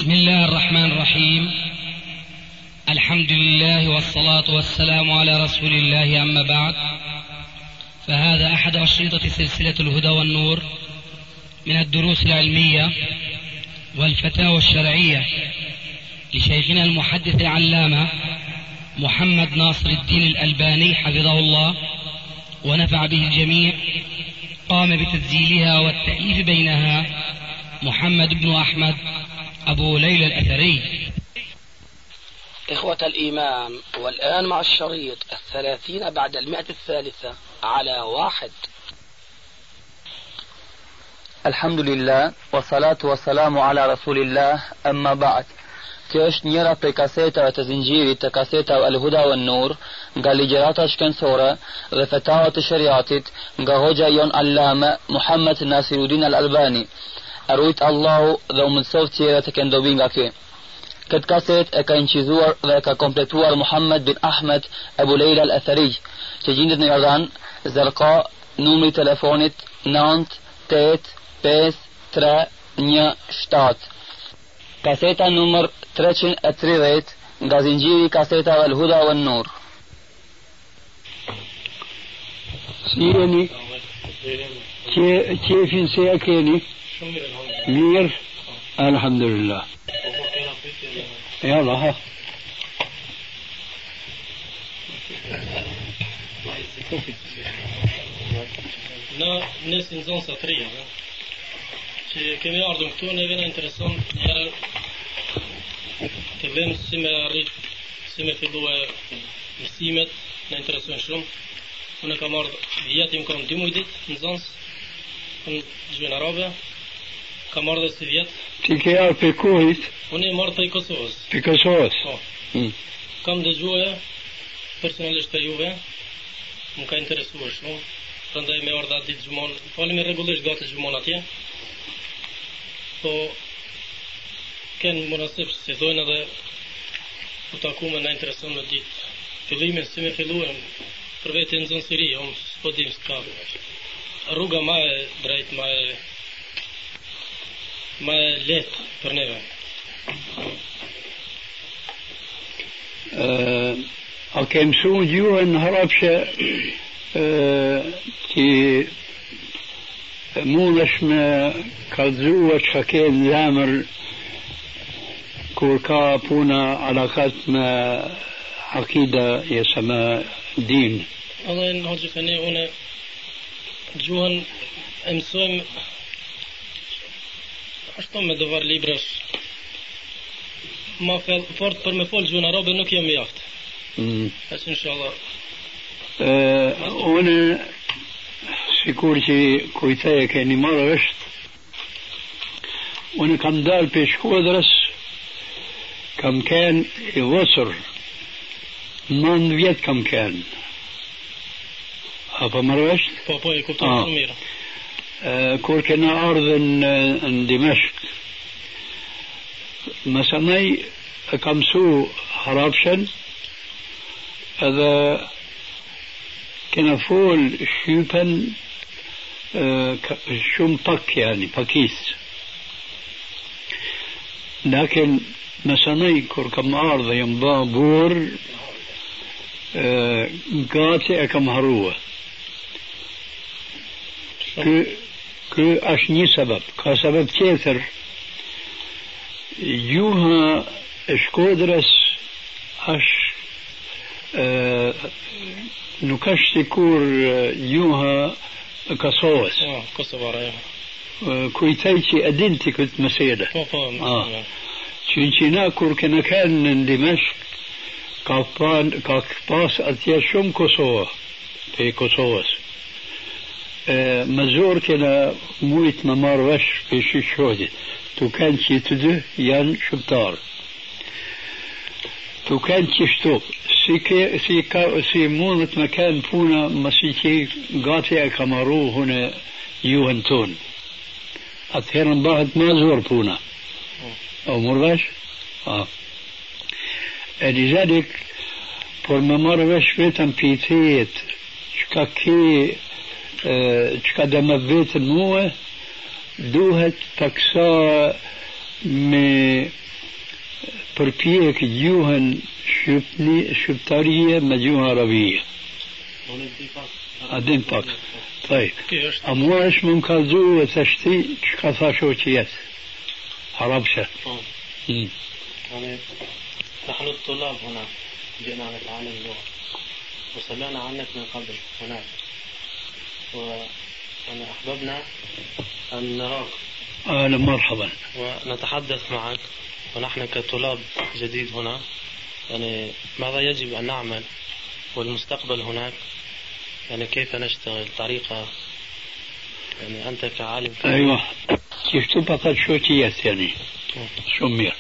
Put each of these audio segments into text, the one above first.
بسم الله الرحمن الرحيم. الحمد لله والصلاة والسلام على رسول الله، أما بعد، فهذا أحد أشرطة سلسلة الهدى والنور من الدروس العلمية والفتاوى الشرعية لشيخنا المحدث العلامة محمد ناصر الدين الألباني حفظه الله ونفع به الجميع. قام بتسجيلها والتأليف بينها محمد بن أحمد أبو ليلى الأثري. إخوة الإيمان، والآن مع الشريط 30 بعد 100 على 1. الحمد لله والصلاة والسلام على رسول الله، أما بعد. Kjo është njëra prej kasetave të zinxhirit të kasetave Al-Huda wan Nur nga ligjërata shkencore dhe fetavat të shariatit nga hoxha jon Allame Muhammed Nasiruddin Al-Albani. Arrujt Allahu dhe u mësoft tjera të këndobi nga kjo. Këtë kaset e ka incizuar dhe e ka kompletuar Muhammed bin Ahmed Abu Lejla Al-Athari, që gjendet në Jordan, Zërka, numri telefonit 9853117. Kaseta numër 330 nga zinxhiri kasetave Al-Huda wan Nur. Si jeni? Qefin se ja keni? Mirë? Alhamdulillah. Jalla, ha. Nësë në zonë satria, që kemi ardhën këtu, neve në intereson njërë të vëmë si me arrit, si me fillu e mësimet, në intereson shumë. Unë kam ardhë vjetim, kam 2 mujdit në zonës, në gjënë arabe, kam ardhë si vjetë. Ti ke arë për kohit? Unë e marrë për Kosovës. Për Kosovës? Po. Kam dëgjue, personalisht për juve, më ka interesuar shumë. Prandaj me ardha ditë gjumon, falemi rregullisht gati gjumon atje. Po kenë munasib se dojnë edhe u takume na intereson me ditë fillimin si me filluem për vete në zonë Siri, unë s'po dim s'ka rruga ma e drejt, ma e letë për neve. A ke mësu gjuhën harapshe që mundesh me kallëzua që ka ke në zemër kur ka puna alakat me akida jesa me din? Allah në hoqë fëni, une gjuhën e mësojmë ashtu me dovar librash ma fort për me fol gjuhën arabe nuk jam jaftë. Asë inshallah. Une sikur që kujteje keni marrë është, une kam dalë për Shkodrës, kam kënë i vësër, 9 vjetë kam kënë. Apo marrë është? Po, e kuptojnë shumë mirë. Kur kena ardhën në Dimeshk, mësanaj e kam su harapshen, edhe kena fol shqypen shumë pak, yani pakis. Lakin mësanaj kur kam ardhë jam ba bur, gati e kam harua. Kë është një sebeb. Ka sebeb tjetër. Gjuha e Shkodrës është nuk është sikur gjuha e Kosovës. Kosovara, ja. Kujtaj që e dinti këtë mësele. Po. Që na kur kena kanë në Dimeshk, ka pas atje shumë Kosova, për Kosovës. Më zorë kena mujtë më marrë vesh për shqyqodit. Tu kanë që të dy janë shqiptarë. Tu kanë qështu, si mundët me kanë puna mësi që gati e ka marru hune juhën tonë. Atëherë në bëhet më zorë puna. O mërë vesh? E lizadik, por më marrë vesh vetëm pitejet, qka ke, qka dhe më vetën muë, duhet paksa me përpjek gjuhën shqiptarie me gjuhën arabie. A din pak. طيب أمو إيش من كالزو وتشتي شكفا شوتيات عربشة. يعني نحن الطلاب هنا جئنا نتعلم اللغة وسمعنا عنك من قبل هناك وأنا أحببنا أن نراك. أهلا مرحبا. ونتحدث معك ونحن كطلاب جديد هنا يعني ماذا يجب أن نعمل والمستقبل هناك يعني كيف نشتغل طريقة يعني أنت كعالم. أيوة كيف تبقى شوتيات يعني شمير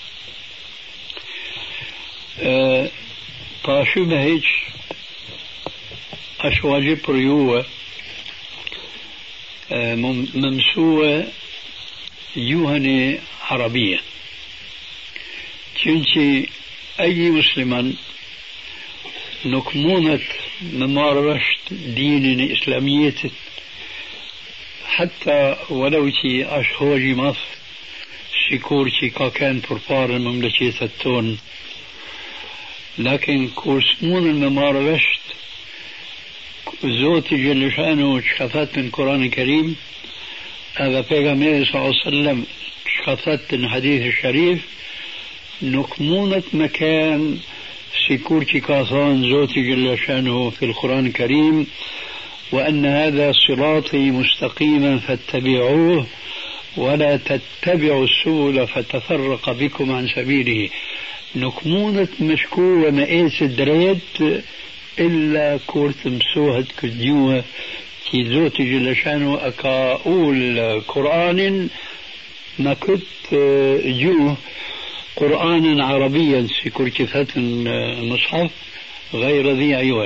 طاشو بهيج أشواجب ريوة ممسوة يوهنة عربية كنتي أي مسلمان نكمونة ممارسة دين إسلامية حتى ولو تي أشهوجي مصر سيكورتي كان بربار المملكة التون لكن كورسمون الممارسة زوتي جل شأنه شخصت من القرآن الكريم هذا بيغمبر صلى الله عليه وسلم شخصت من الحديث الشريف نكمونة مكان سيكورتي كاثان زوتي جل شأنه في القرآن الكريم وأن هذا صراطي مستقيما فاتبعوه ولا تتبعوا السبل فتفرق بكم عن سبيله نكمونة مشكو ومئيس الدريد إلا كورت مسوهد كديوه كي زوتي جل شأنه أكاول قرآن ما كنت جوه قرآنا عربيا سيكورتي فتن مصحف غير ذي عوج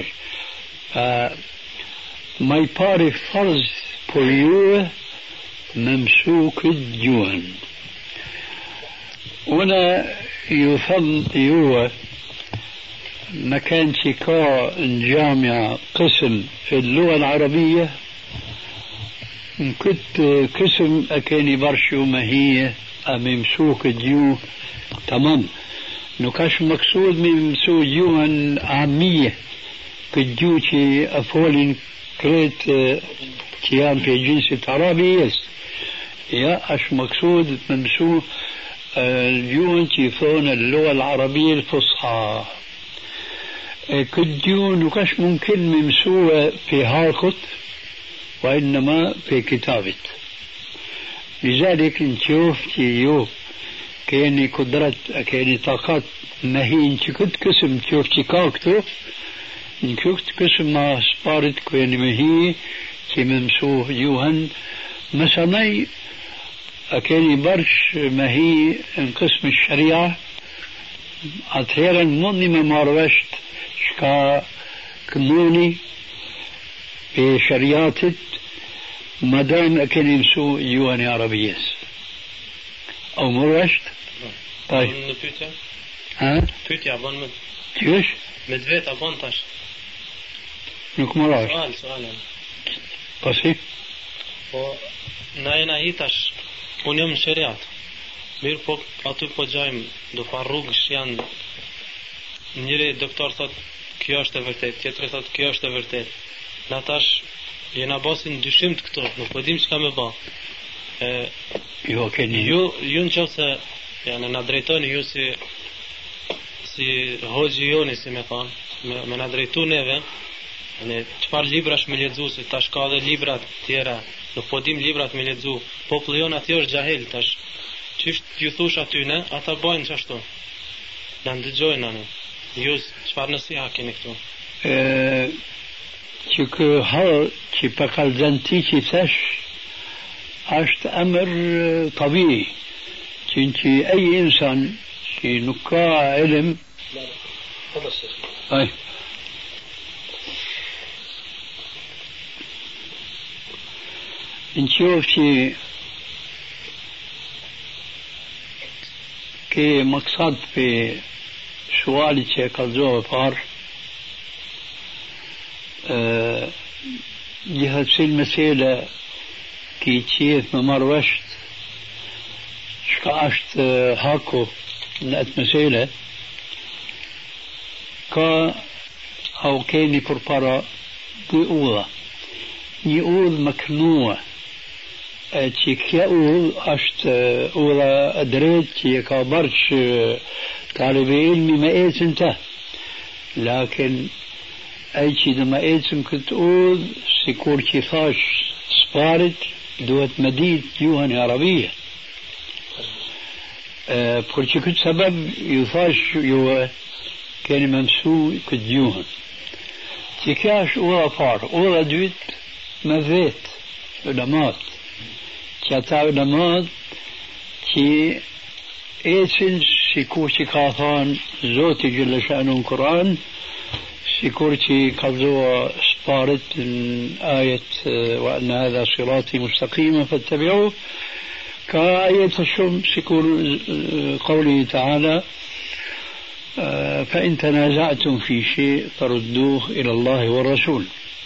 ما يباري فرض بوليوه ممسوك الجوهن هنا يفضل يوه مكان شكاء جامعة قسم في اللغة العربية كنت قسم أكاني برشو ما هي ممسوك الجوه تمام نكاش مقصود من ممسوك جوهن عامية كجوتي أفولين كريت كيان في جنس عربي يا أش مقصود ممسوك الجون تيفون اللغة العربية الفصحى كديون وكاش ممكن ممسوة في هاركت وإنما في كتابة لذلك نشوف تيو كيني قدرت كيني طاقات ما هي انت كنت قسم تشوف تكاكتو نشوف قسم ما سبارت كيني ما هي كي ممسوه يوهن مثلا أكاني برش ما هي قسم الشريعة أثيرا مني ممارست شكا كموني بشريعة مدام أكاني مسو يواني عربيس أو مرشت طيب ها تويتي عبان مد كيش مدفيت عبان تاش نك مرش سؤال قصي ناينا هيتاش unë jam në shariat mirë po aty po gjajmë do fa rrugësh janë njëri doktor thot kjo është e vërtet tjetri thot kjo është e vërtet na tash jena basin dyshim të këto nuk po dim çka më bë jo keni ju në qoftë janë na drejtoni ju si hoxhi joni si më thon me na drejtu neve ne çfarë librash me lexues tash ka edhe libra të tjera nuk po dim librat me lexu populli jon aty është xahil tash çish ju thosh aty ne ata bajnë çashtu na ndëgjojnë anë ju çfarë nësi ha keni këtu që kë hall që pa kallzanti që thash është amër tabii që ai insan që nuk ka ilm ai نشوف شيء كي مقصد في سؤالي شيء كالزوه فار جهة في المسألة كي تشيث ممروشت شكاشت هاكو نقت مسألة كا أو كيني بربرا بيقولا يقول مكنوع تيك يقول أشت أولا أدريت يكا برش طالب علمي ما إيت انت لكن أي شيء لما إيتم كنت أقول سيكور كيفاش سبارت دوت مديد يوهن عربية برشي كنت سبب يفاش يوه كان ممسو كنت يوهن تيكاش أولا فار أولا دوت مذيت علمات كاتا علمات كي إيتن سيكور كافان زوتي جل شأنه القرآن سيكورتي قبضوا سبارت من آية وأن هذا صراطي مستقيما فاتبعوه كآية الشم سيكون قوله تعالى فإن تنازعتم في شيء فردوه إلى الله والرسول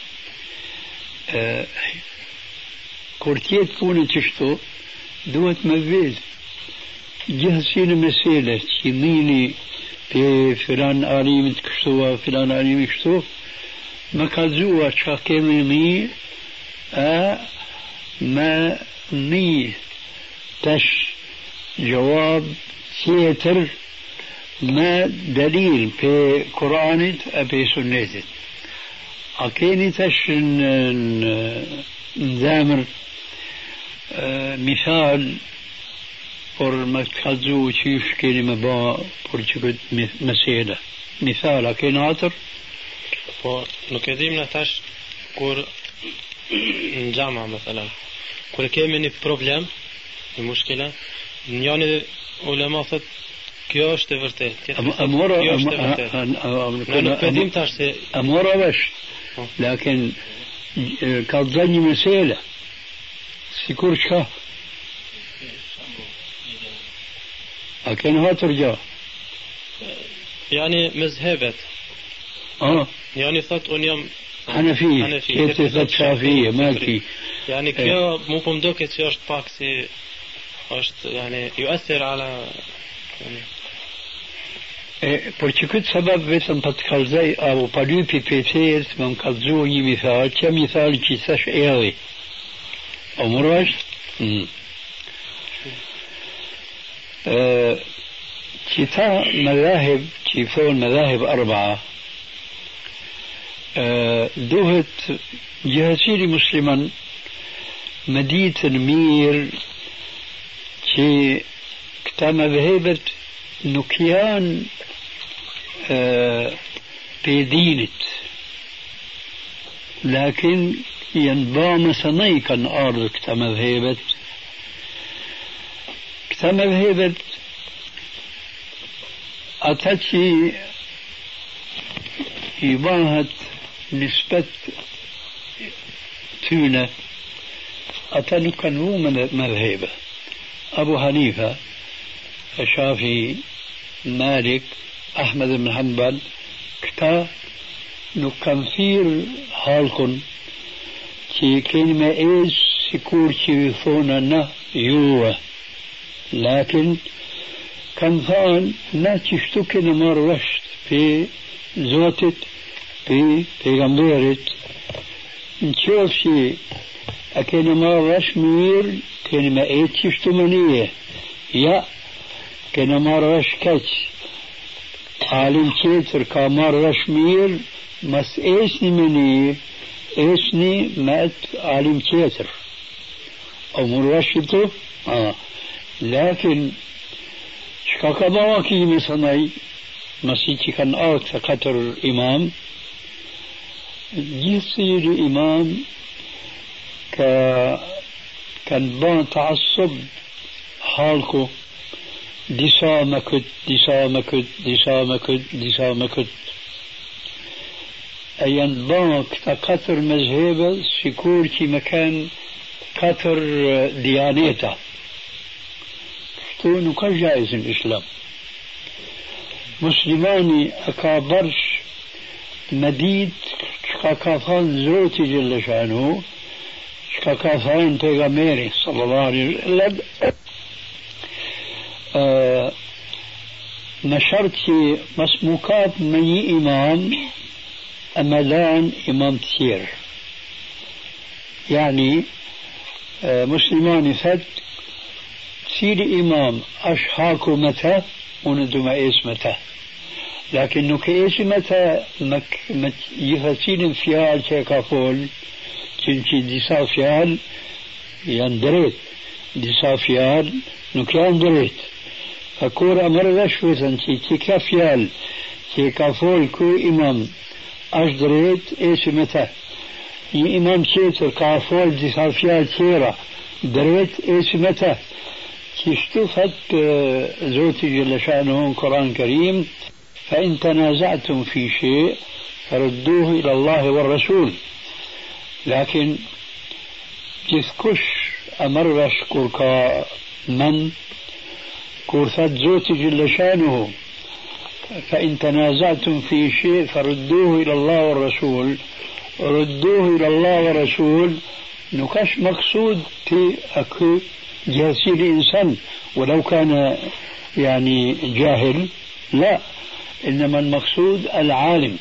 كورتيت كون تشتو دوت مبيز جهسين مسيلة يميني في فلان آليم تكشتوا فلان آليم يكشتوا ما كازوا شاكيمي ما مي تش جواب سيتر ما دليل في قرآن أبي سنة أكيني تش نزامر مثال por më të kallëzu qysh keni me ba por që këtë mesele. Misal, a keni atër? Po, nuk e dim në tash kur në gjama, mëthëllën, kur kemi një problem, një mushkila, njani ulema thët, kjo është e vërtet. Amora, kjo është e vërtet. Ne nuk e dim tash se... Amora vesh, lakin ka të një mesele, sikur që أكن هاترجع يعني مذهبت يعني ثت أنيم حنفية كيف ثت شافية مالكي يعني كيا مو بمدوك تشارج باكسي يعني يؤثر على يعني Porque këtë sebeb vetëm për të kalzaj apo pa lypi pejtjes më kalzu një mithal, që mithal që thash erdi. O murash? كتا مذاهب كيفون مذاهب أربعة دوهت جهسيري مسلما مديت المير كي كتا مذهبت نكيان بيدينت لكن ينبام سنيكا أرض كتا مذهبت كما ذهبت أتتي إباهة نسبة تونة أتنكنوا مذهبة أبو حنيفة الشافعي مالك أحمد بن حنبل كتا نكنفير حالكن كي كلمة إيش سكور كي ثونا يوه لكن كان ثان ناتشتو كنا مرشت في زوتت في غمبيرت نشوف شي أكينا مرش مير كنا ما ايتشتو منيه يا كنا مرش كاتش عالم كيتر كمرش مير مس ايشني منيه ايشني مات عالم كيتر او مرشتو لكن شكاكا بواكي مثلا مسيحي كان آت قطر إمام يصير إمام كان بان تعصب حالكو ديسا مكت أيان بان قطر مذهبه سيكور كي مكان قطر ديانيته تكون كجائز الإسلام مسلماني أكابرش مديد شكاكافان زوتي جل شأنه شكاكافان تيغاميري صلى الله عليه وسلم ما شرط مسموكات مني إمام أمدان إمام تسير يعني مسلمان فد سير إمام أشحاكو متى وندو ما إيس متى لكن كيس متى يفسين فيال شيكا فول كنتي ديسا فيال يندريت ديسا فيال نكيان دريت فكور أمر رشوة تيكا فيال تيكا فول كو إمام أشدريت إيش متى إمام تيتر كافول ديسا فيال تيرا دريت إيش متى تشتفت زوتي جل شأنه قرآن الكريم فإن تنازعتم في شيء فردوه إلى الله والرسول لكن تذكش أمرش كوركا من كورثت زوتي جل شأنه فإن تنازعتم في شيء فردوه إلى الله والرسول ردوه إلى الله والرسول نكش مقصود تي أكو جالسي الإنسان ولو كان يعني جاهل لا إنما المقصود العالم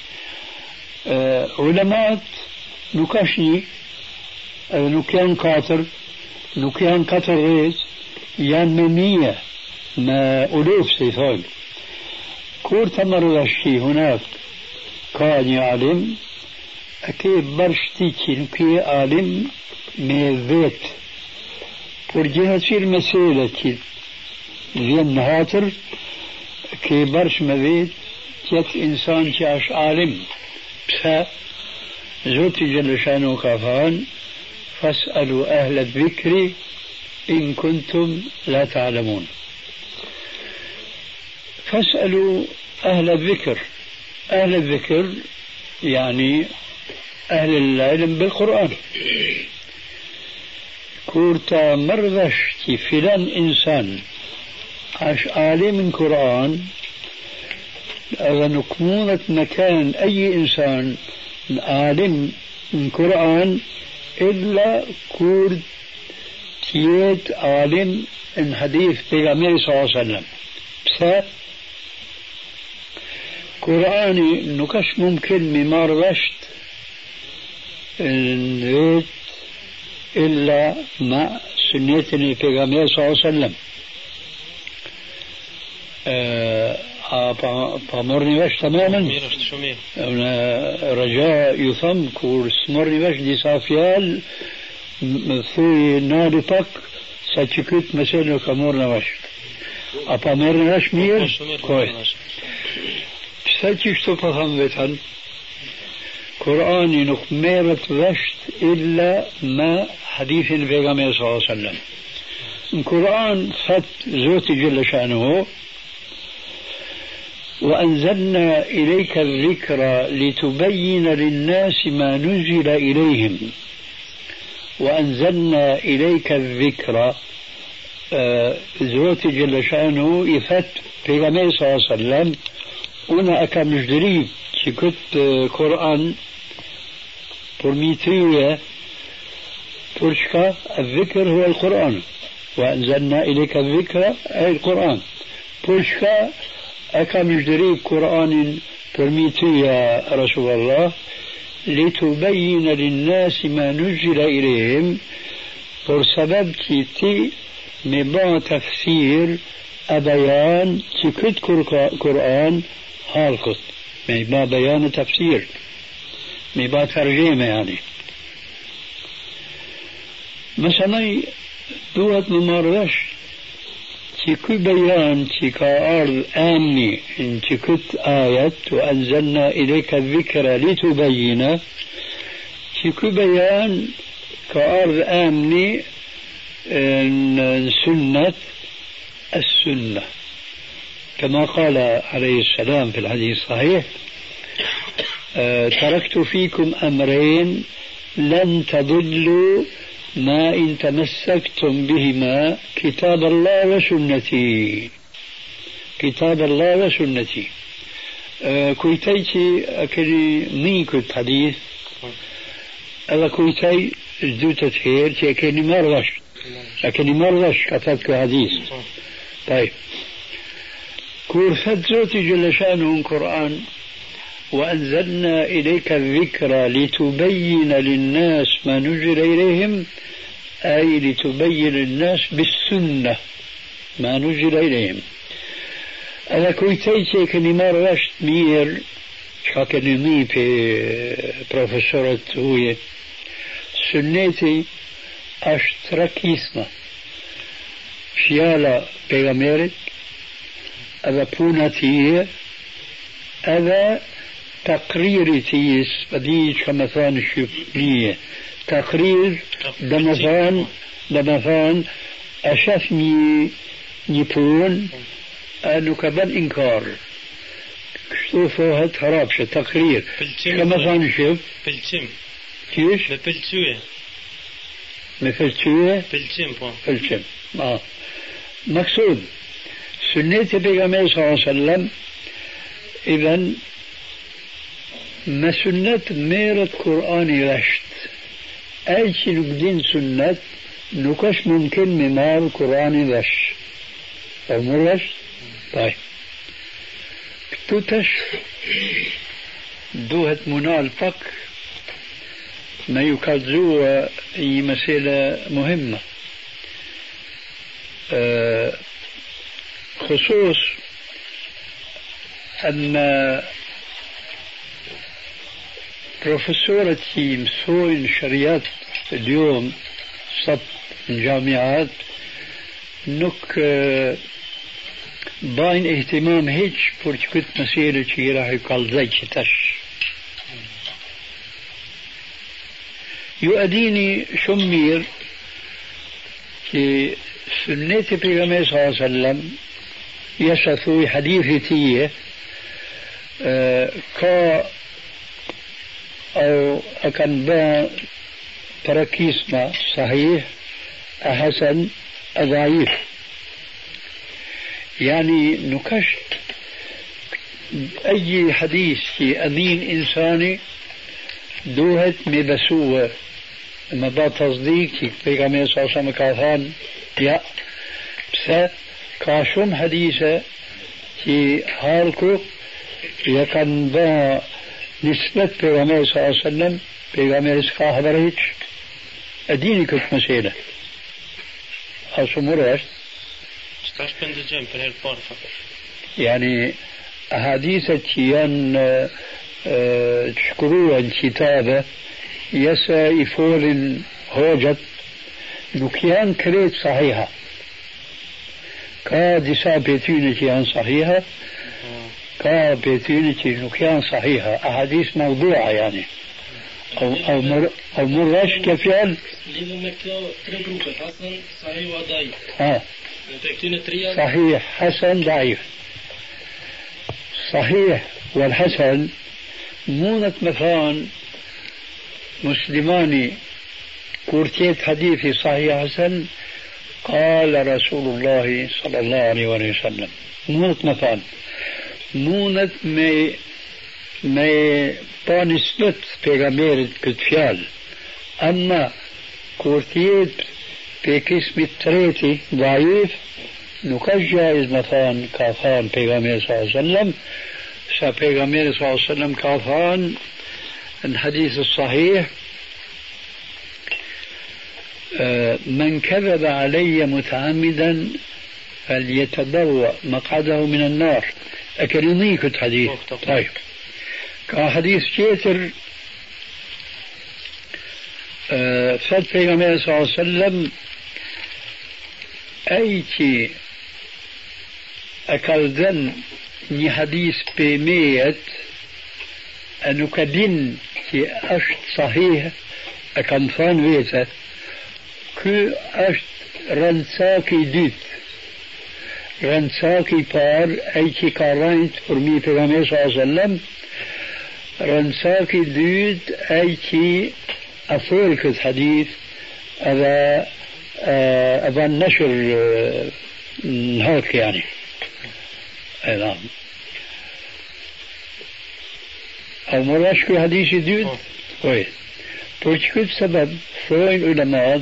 علماء نكشني نكيان قاتر نكيان قطر ريس يعني ممية ما ألوف سيفاق كور تمر الشيء هناك كان يعلم أكيد برشتي كي عالم من ذات ورجعت في المسألة كي زين هاتر كي برش مذيت جت إنسان كاش عالم بسا زوتي جل شانه كافان فاسألوا أهل الذكر إن كنتم لا تعلمون فاسألوا أهل الذكر أهل الذكر يعني أهل العلم بالقرآن كورتا مرغشتي فلان إنسان عاش عالم القرآن أذا نكمونة مكان أي إنسان عالم القرآن إلا كورت تيت عالم إن حديث بيغامير صلى الله عليه وسلم بس قرآني نكش ممكن ممار رشت نريد إلا مع سنتني بيغامير صلى الله عليه وسلم فمرني باش تماما رجاء يثم كور سمرني باش دي صافيال في نادي باك ساتشكت مثلا كمورنا باش أبامرني باش مير كوي ساتشك تفهم بيتان قرآني نخميرة رشت إلا ما حديث النبي صلى الله عليه وسلم القرآن فت زوتي جل شأنه وأنزلنا إليك الذكر لتبين للناس ما نزل إليهم وأنزلنا إليك الذكر زوتي جل شأنه يفت بيغامي صلى الله عليه وسلم أنا أكام جدريب كنت قرآن برميترية ترشكا الذكر هو القرآن وأنزلنا إليك الذكر أي القرآن ترشكا أكام جدريب قرآن برميترية رسول الله لتبين للناس ما نزل إليهم بسبب كيتي مبا تفسير أبيان كيكت قرآن هالكت مبا بيان تفسير مبا ترجمة يعني مثلا دوت ممارش كي بيان كأرض آمني إن كت آية وأنزلنا إليك الذكر لتبين كي بيان كأرض آمني إن سنة السنة كما قال عليه السلام في الحديث الصحيح تركت فيكم أمرين لن تضلوا ما إن تمسكتم بهما كتاب الله وسنتي كتاب الله وسنتي كويتيتي أكلي مين كنت حديث ألا كويتي جدوتة خير أكلي مرغش أكلي مرغش كتبت حديث طيب كورثت زوتي جل شانه القرآن وأنزلنا إليك الذكر لتبين للناس ما نزل إليهم أي لتبين للناس بالسنة ما نزل إليهم. أنا كويتيتي كني مرشت مير شاكني في بروفيسورة هوية سنتي أشتركيسما شيالا بيغاميرت هذا بوناتيه هذا تقريري تيس بديش كمثان الشبنية تقرير دمثان أشافني نيبون أنه كبن إنكار شوفوا هاد خرابشة تقرير كمثان الشب بلتم كيش بلتوه مفلتوه بلتم مقصود سنة بيغامبر صلى الله عليه وسلم إذن ما سنة ميرت قرآن رشت أي شيء نقدين سنة نكش ممكن ممار قرآن رش أو مرش طيب كتوتش دوهت منال فك ما يكذو أي مسألة مهمة خصوص أن بروفيسورتي مسوين شريات اليوم صب الجامعات نك باين اهتمام هيج كنت مسيرة شي راح يقال زي تش يؤديني شمير في سنة بيغمبر صلى الله عليه وسلم يشثوي حديثي كا أو أكن با تركيسما صحيح أحسن أضعيف يعني نكشت أي حديث في أمين إنساني دوهت مبسوة ما با تصديق في كما صلى كافان يا بس كاشم حديثة في حالكو يكن با نسبة پیغمبر صلی اللہ علیہ وسلم پیغمبر اس کا خبر هیچ ادینی کچھ مسئلة أصمر أشت ستاش بندجم per herpar فقط يعني أحاديث تيان تشكروا الكتابة يسا يفول هوجت نكيان كريت صحيحة كا دسا بيتونة كيان صحيحة كا بيتونة نكيان صحيحة أحاديث موضوعة يعني أو مرش كيف يعني حسن صحيح وضعيف صحيح حسن ضعيف صحيح والحسن مونة مثلا مسلماني كورتيت حديثي صحيح حسن قال رسول الله صلى الله عليه وسلم مونة مثلا مونة ما بانسبت بيغامير كتفيال أما كورتيت بكسم التريتي ضعيف نكش جائز مثلا كافان بيغامير صلى الله عليه وسلم بيغامير صلى الله عليه وسلم كافان الحديث الصحيح من كذب علي متعمدا فليتبوأ مقعده من النار أكرميك الحديث طيب كحديث كيتر فات بيغمبر صلى الله عليه وسلم أيتي أكالدن ني حديث بميت أنو كدين كي أشت صحيح أكنفان ويتا كو أشت رنساكي ديت رنساكي بار أيتي كارانت فرمي بيغمبر صلى الله عليه وسلم رنساكي ديت أيتي أفولك الحديث هذا النشر هيك يعني نعم أو مراشكو حديث ديد كويس برشكو سبب فوين علماء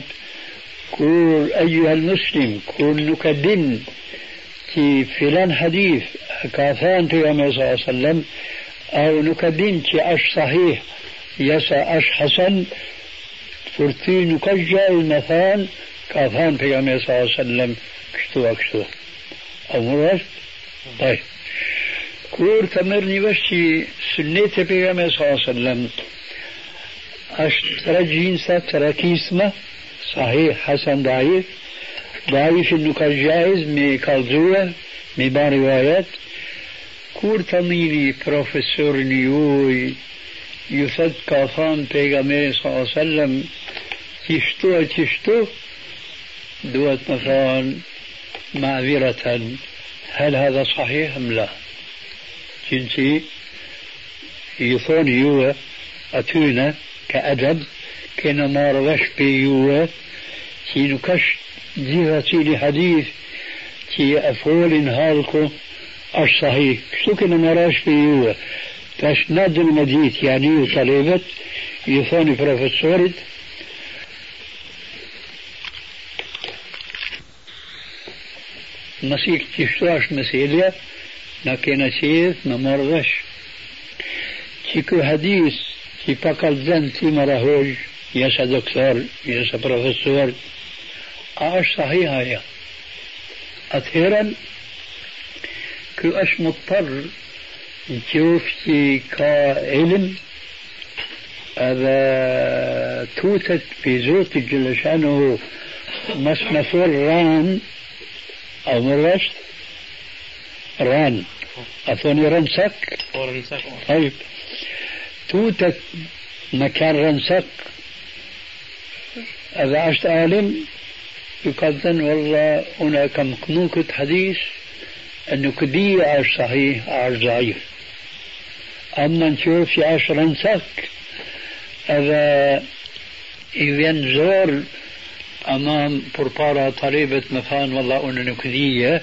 كل أيها المسلم كل نكدن في فلان حديث كافان في صلى الله عليه وسلم أو نكدين أش صحيح يسا أش حسن فرتي نكجا المثان كافان في صلى الله عليه وسلم كشتو أكشتو أو مرات طيب كور تمرني بشي سنة في صلى الله عليه وسلم أش ترجين تركيسمة صحيح حسن ضعيف ضعيف إنه كالجائز مي كالزوة مي بان روايات كور تميني بروفيسور نيوي يثد كافان بيغامير صلى الله عليه وسلم تشتو دوت مثلا معذرة هل هذا صحيح أم لا جنسي يثون يوه أتونا كأدب كنا ما روش بيوه تي نكش جهتي لحديث تي أفول هالكو أش صحيح شو كنا ما روش بيوه تاش ناد المديت يعني طلبت يثوني بروفيسورت مسيك تشتاش مسيليا لكن سيد ما روش تيكو حديث تي باكال زن تي مراهوج يسا دكتور يسا بروفيسور اش صحيحة يا اثيرا كو اش مضطر نشوف تي كعلم هذا توتت في زوت جل شانه مسمفور ران او مرشت ران اثوني رنسك طيب توتت مكان رنسك إذا عشت عالم يقدن والله هناك مقنوكة حديث أنه كدية عاش صحيح عاش ضعيف أما نشوف عاش رنسك إذا ينزور أمام بربارة طالبة مفان والله أنه كدية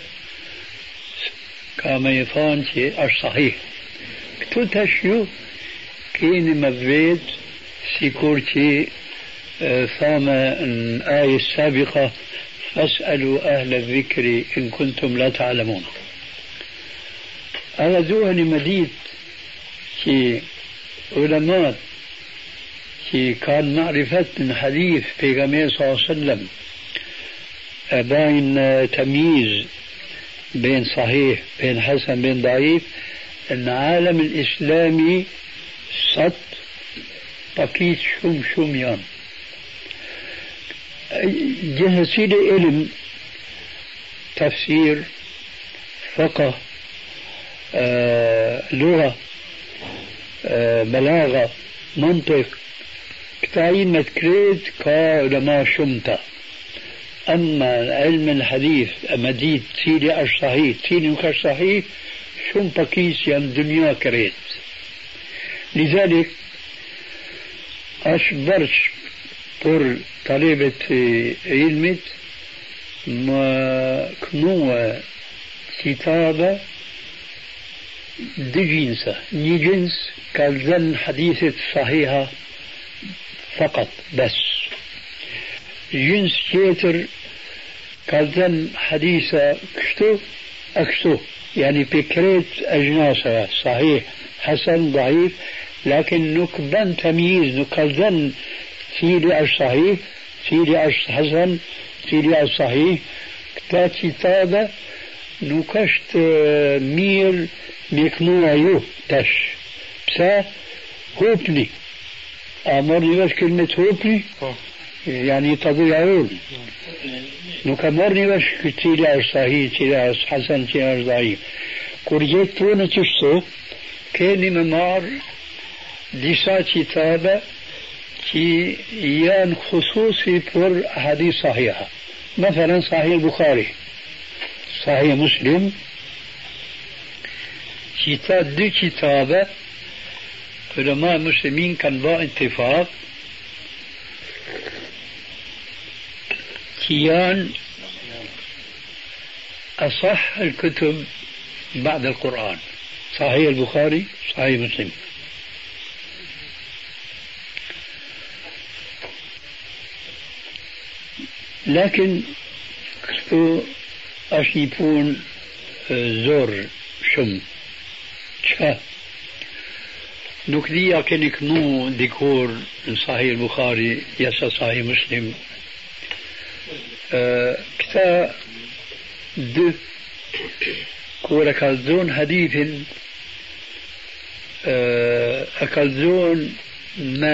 كما يفان عاش صحيح كتوتشيو كين مبيت سيكورتي ثامة الآية السابقة فاسألوا أهل الذكر إن كنتم لا تعلمون هذا ذوهني مديد في علماء في كان معرفة من حديث في صلى الله عليه وسلم بين تمييز بين صحيح بين حسن بين ضعيف العالم الإسلامي صد بقيت شم يوم جهسي علم تفسير فقه لغة بلاغة منطق كتاين متكريت كعلماء شمتا أما علم الحديث مديد تيلي أش صحيح تيلي مكش صحيح شم بقيس يم دنيا كريت لذلك أشبرش بور طالبة علمت ما كنوة كتابة دي جنسة ني جنس كالذن حديثة صحيحة فقط بس جنس كيتر كالذن حديثة أكشتو يعني بكريت أجناسها صحيح حسن ضعيف لكن نكبن تمييز نكالذن سيدي الصحيح سيدي الحسن سيدي الصحيح كتاب كتابة نكشت مير ميكنوع يو تش بسا هوبني أمرني بس كلمة هوبني يعني تضيعون نكمرني بس سيدي الصحيح سيدي الحسن سيدي الضعيف كورجيت تونة تشتو كان ممار ديسا كتابة كي يان خصوصي بور حديث صحيحة مثلا صحيح البخاري صحيح مسلم كتاب دي كتابة علماء المسلمين كان با اتفاق كيان أصح الكتب بعد القرآن صحيح البخاري صحيح مسلم لكن أشيبون زور shumë. Çka? Nuk dhja keni kënu dikur në Sahih Bukhari, jasa Sahih Muslim. Këta dë, kur e kalzon hadithin, e kalzon me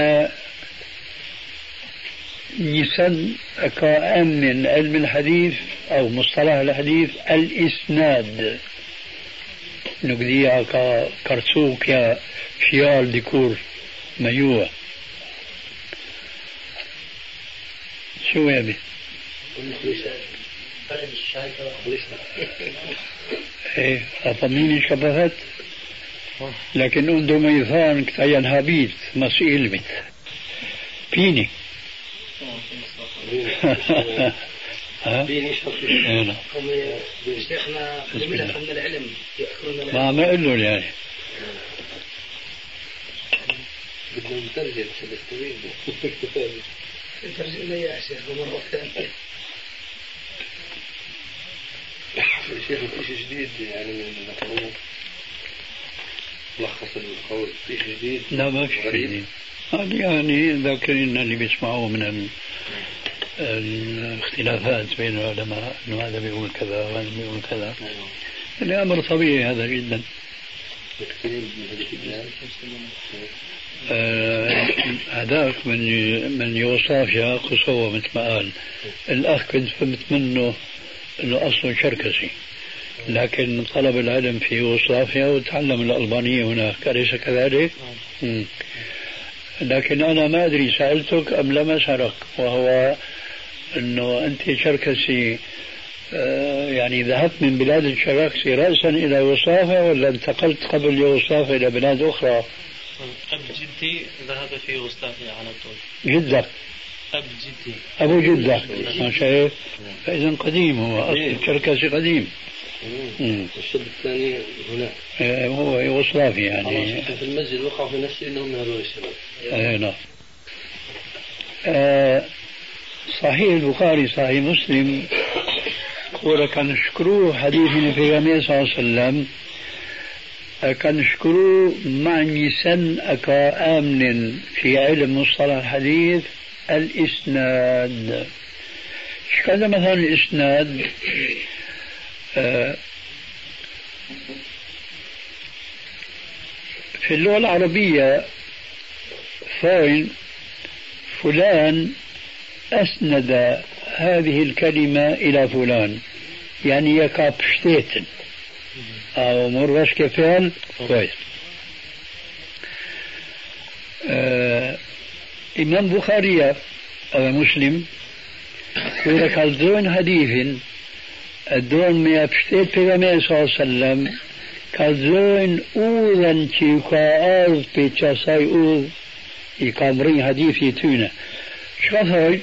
نسن كأمن علم الحديث أو مصطلح الحديث الإسناد نقديها كرسوك يا فيال ديكور ميوة شو يا بي ايه أطميني شبهت لكن عنده ميثان كتاين هابيت مسئل بيت بيني بيني شخصي هم شيخنا جميلة من العلم ما أقول له يعني بدنا نترجم ترجم لي يا شيخ مرة ثانية شيخ في شيء جديد يعني من القانون لخص القول في شيء جديد لا ما في شيء جديد يعني ذاكرين اللي بيسمعوه من الاختلافات بين العلماء انه هذا بيقول كذا وهذا بيقول كذا الامر طبيعي هذا جدا هذاك من يوغوسلافيا قصوى مثل ما قال الاخ كنت فهمت منه انه اصله شركسي لكن طلب العلم في يوغوسلافيا وتعلم الالبانيه هناك اليس كذلك؟ لكن انا ما ادري سالتك ام لم اسالك وهو انه انت شركسي يعني ذهبت من بلاد الشراكسي راسا الى يوغوسلافيا ولا انتقلت قبل يوغوسلافيا الى بلاد اخرى؟ اب جدي ذهب في يوغوسلافيا على طول. جدك؟ اب جدي. ابو جدك ما شايف؟ فاذا قديم هو اصل الشركسي قديم. الشاب الثاني هنا هو يوغوسلافيا يعني في المسجد وقعوا في نفسي انهم من هذول الشباب. نعم. صحيح البخاري صحيح مسلم كان نشكروه حديثنا في النبي صلى الله عليه وسلم كان نشكروه مع نسن أكا آمن في علم مصطلح الحديث الإسناد. كذا مثلا الإسناد في اللغة العربية فاين فلان أسند هذه الكلمة إلى فلان يعني يكاب شتيتن أو مرغش كفعل كويس. إمام بخاري أو مسلم يقول كالدون حديث الدون ما يبشتيت في النبي صلى الله عليه وسلم كالدون أوذن تيكا أرض بيتشاساي أوذ يكامرين حديثي تونه شخصي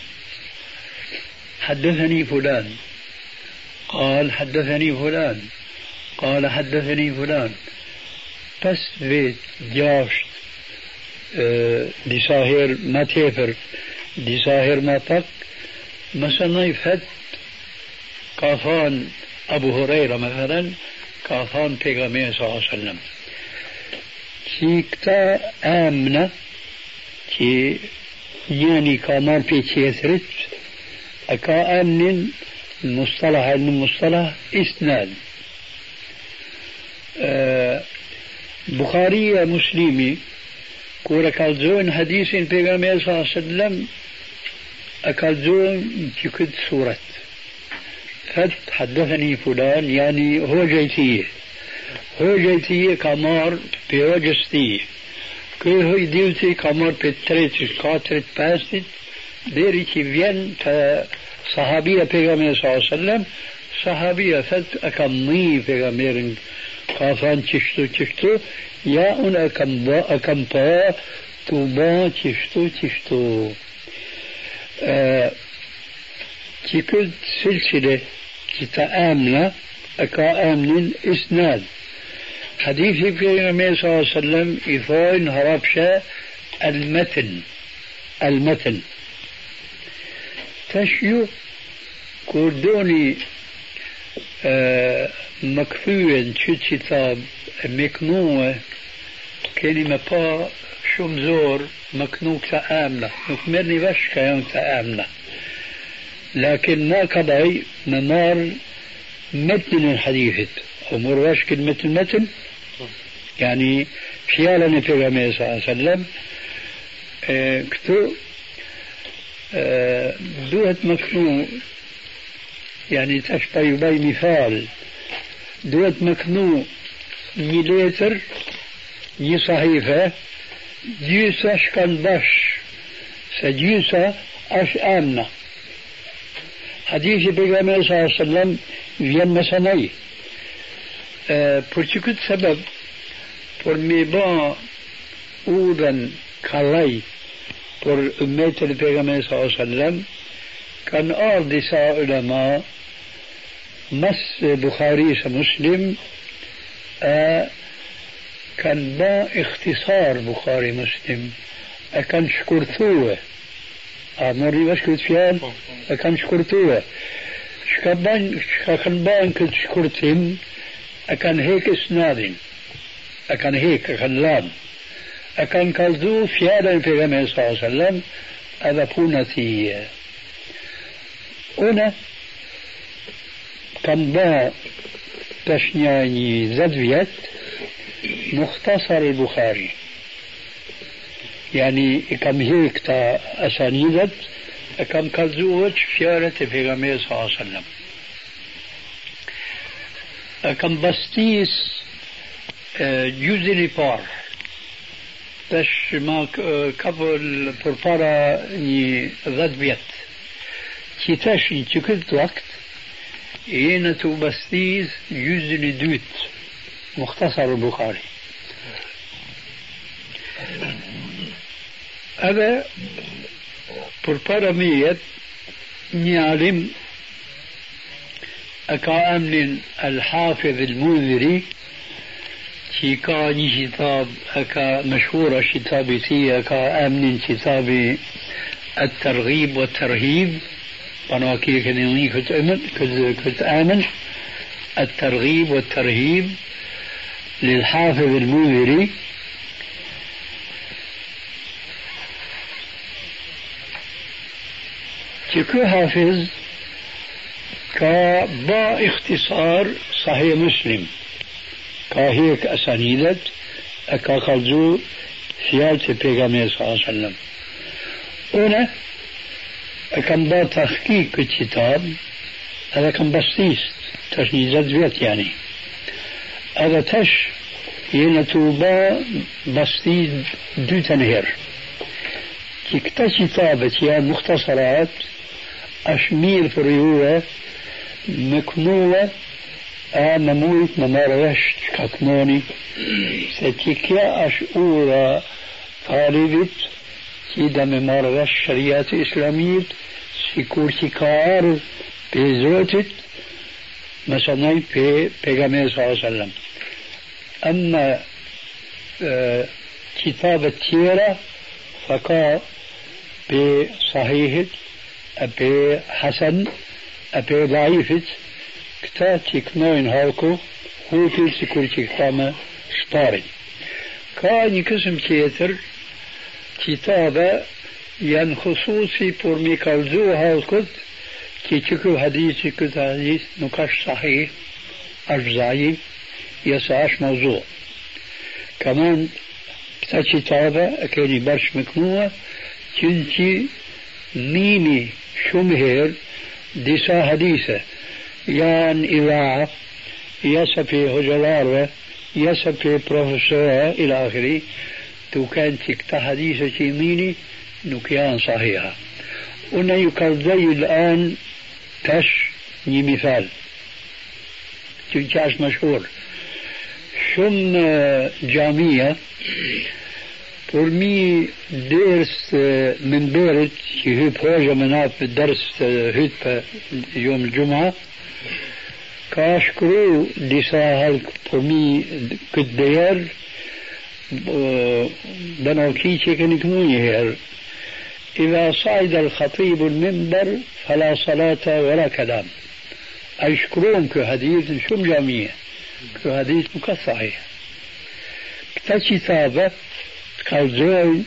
حدثني فلان قال حدثني فلان قال حدثني فلان بس بيت جاشت دي ساهر ما تيفر دي ساهر ما تك مثلا يفت كافان أبو هريرة مثلا كافان بيغامير صلى الله عليه وسلم كيكتا آمنة كي يعني كمان في تيسرت أكا آمن المصطلح المصطلح إسناد. بخاري مسلمي كورا كالزون حديث البيغامبر صلى الله عليه وسلم أكالزون تكد سورة فت حدثني فلان يعني هو جيتيه كمار بيوجستيه كي هو يديوتي كمار بتريت كاترت باستت ديري كي فين صحابية بيغامبر صلى الله عليه وسلم صحابية فت أكمي بيغامبر كافان تشتو يا أن أكمبا توبا تشتو كل سلسلة كتآمنة أكا آمن إسناد حديث النبي صلى الله عليه وسلم إفاين هربشة المتن تشيو كردوني مكفوين شو كتاب مكنوة كلمة با شو زور مكنوك تآمنة نكمرني بش كيون تآمنة لكن ما قضي نمار متن الحديث أمور واش كلمة المتن يعني فيالا في الرمي صلى الله عليه وسلم كتو دوت مكنو يعني تشبه يبي مثال دوت مكنو ميليتر دي صحيفة جيسا شكال باش سجيسا أش آمنة حديث بيغامبر صلى الله عليه وسلم vjen me sanaj për që këtë sebeb për me ba udhën kalaj për ummetën e pejgamberit sallallahu alaihi wasallam kanë ardhur disa ulama mas Bukharisë Muslim kanë ba ikhtisar Bukhari Muslim kanë shkurtue a mori vesh këtë fjalë kanë shkurtue shka kanë banë këtë shkurtim e kanë hek isnadin e kanë hek, e kanë lanë e kanë kalzu fjallën e pejgamberit sallallahu alaihi wasallam edhe puna tije une kanë ba tash një 10 vjet mukhtasar al-Bukhari يعني كم هيك تا أسانيدت كم كذوت فيارة في غمير صلى الله عليه وسلم كم بستيس جزء بار تش ما قبل بربارا ني ذات بيت كي تشي كل وقت ينتو بستيس جزء دوت مختصر البخاري هذا بربرمية نعلم أكامن الحافظ المنذري في كان كتاب أكا مشهورة كتابتي أكامن كتاب الترغيب والترهيب أنا كي كنوني كنت آمن الترغيب والترهيب للحافظ المنذري كيكو حافظ كبا اختصار صحيح مسلم كهيك أسانيدت أكا خلزو فيالة بيغامبر صلى الله عليه وسلم هنا أكم با تحقيق الكتاب هذا كم بسيط تشنيزات بيت يعني هذا تش ينتوبا بسيط دو تنهر كتا كتابة يا مختصرات أشمير في الريوة مكنوة نموت نمارشت كتنوني ستيكيا أشعورا طالبت كيدا ممارش شريعة إسلامية سيكورتي كار بيزوتت مثلا بيغامبر صلى الله عليه وسلم أما كتابة تيرا فكا بصحيح أبي حسن أبي ضعيفت كتا تكنوين هالكو هو كل سكورتي كتامة شطاري كان قسم تيتر كتابة ين خصوصي بور ميكالزو هالكت كي تكو حديثي كت حديث نكاش صحيح أش ضعيف يساش موضوع كمان كتا كتابة أكيني برش مكنوة كنتي ميني شمهر ديسا حديثة يان إذاعة يسفي هجلارة يسفي بروفيسور إلى آخره تو كان تكتا حديثة ميني نكيان صحيحة ونا يكالزي الآن تش مثال تنكاش مشهور شم جامية برمي درس من بيرت هي بروجة مناف درس هيت يوم الجمعة كاشكرو ديسا هالك برمي كدير بنوكي تكن كنوني هير إذا صعد الخطيب المنبر فلا صلاة ولا كلام أشكرون كحديث شو جامية كحديث مكصحيح كتابة كالزوي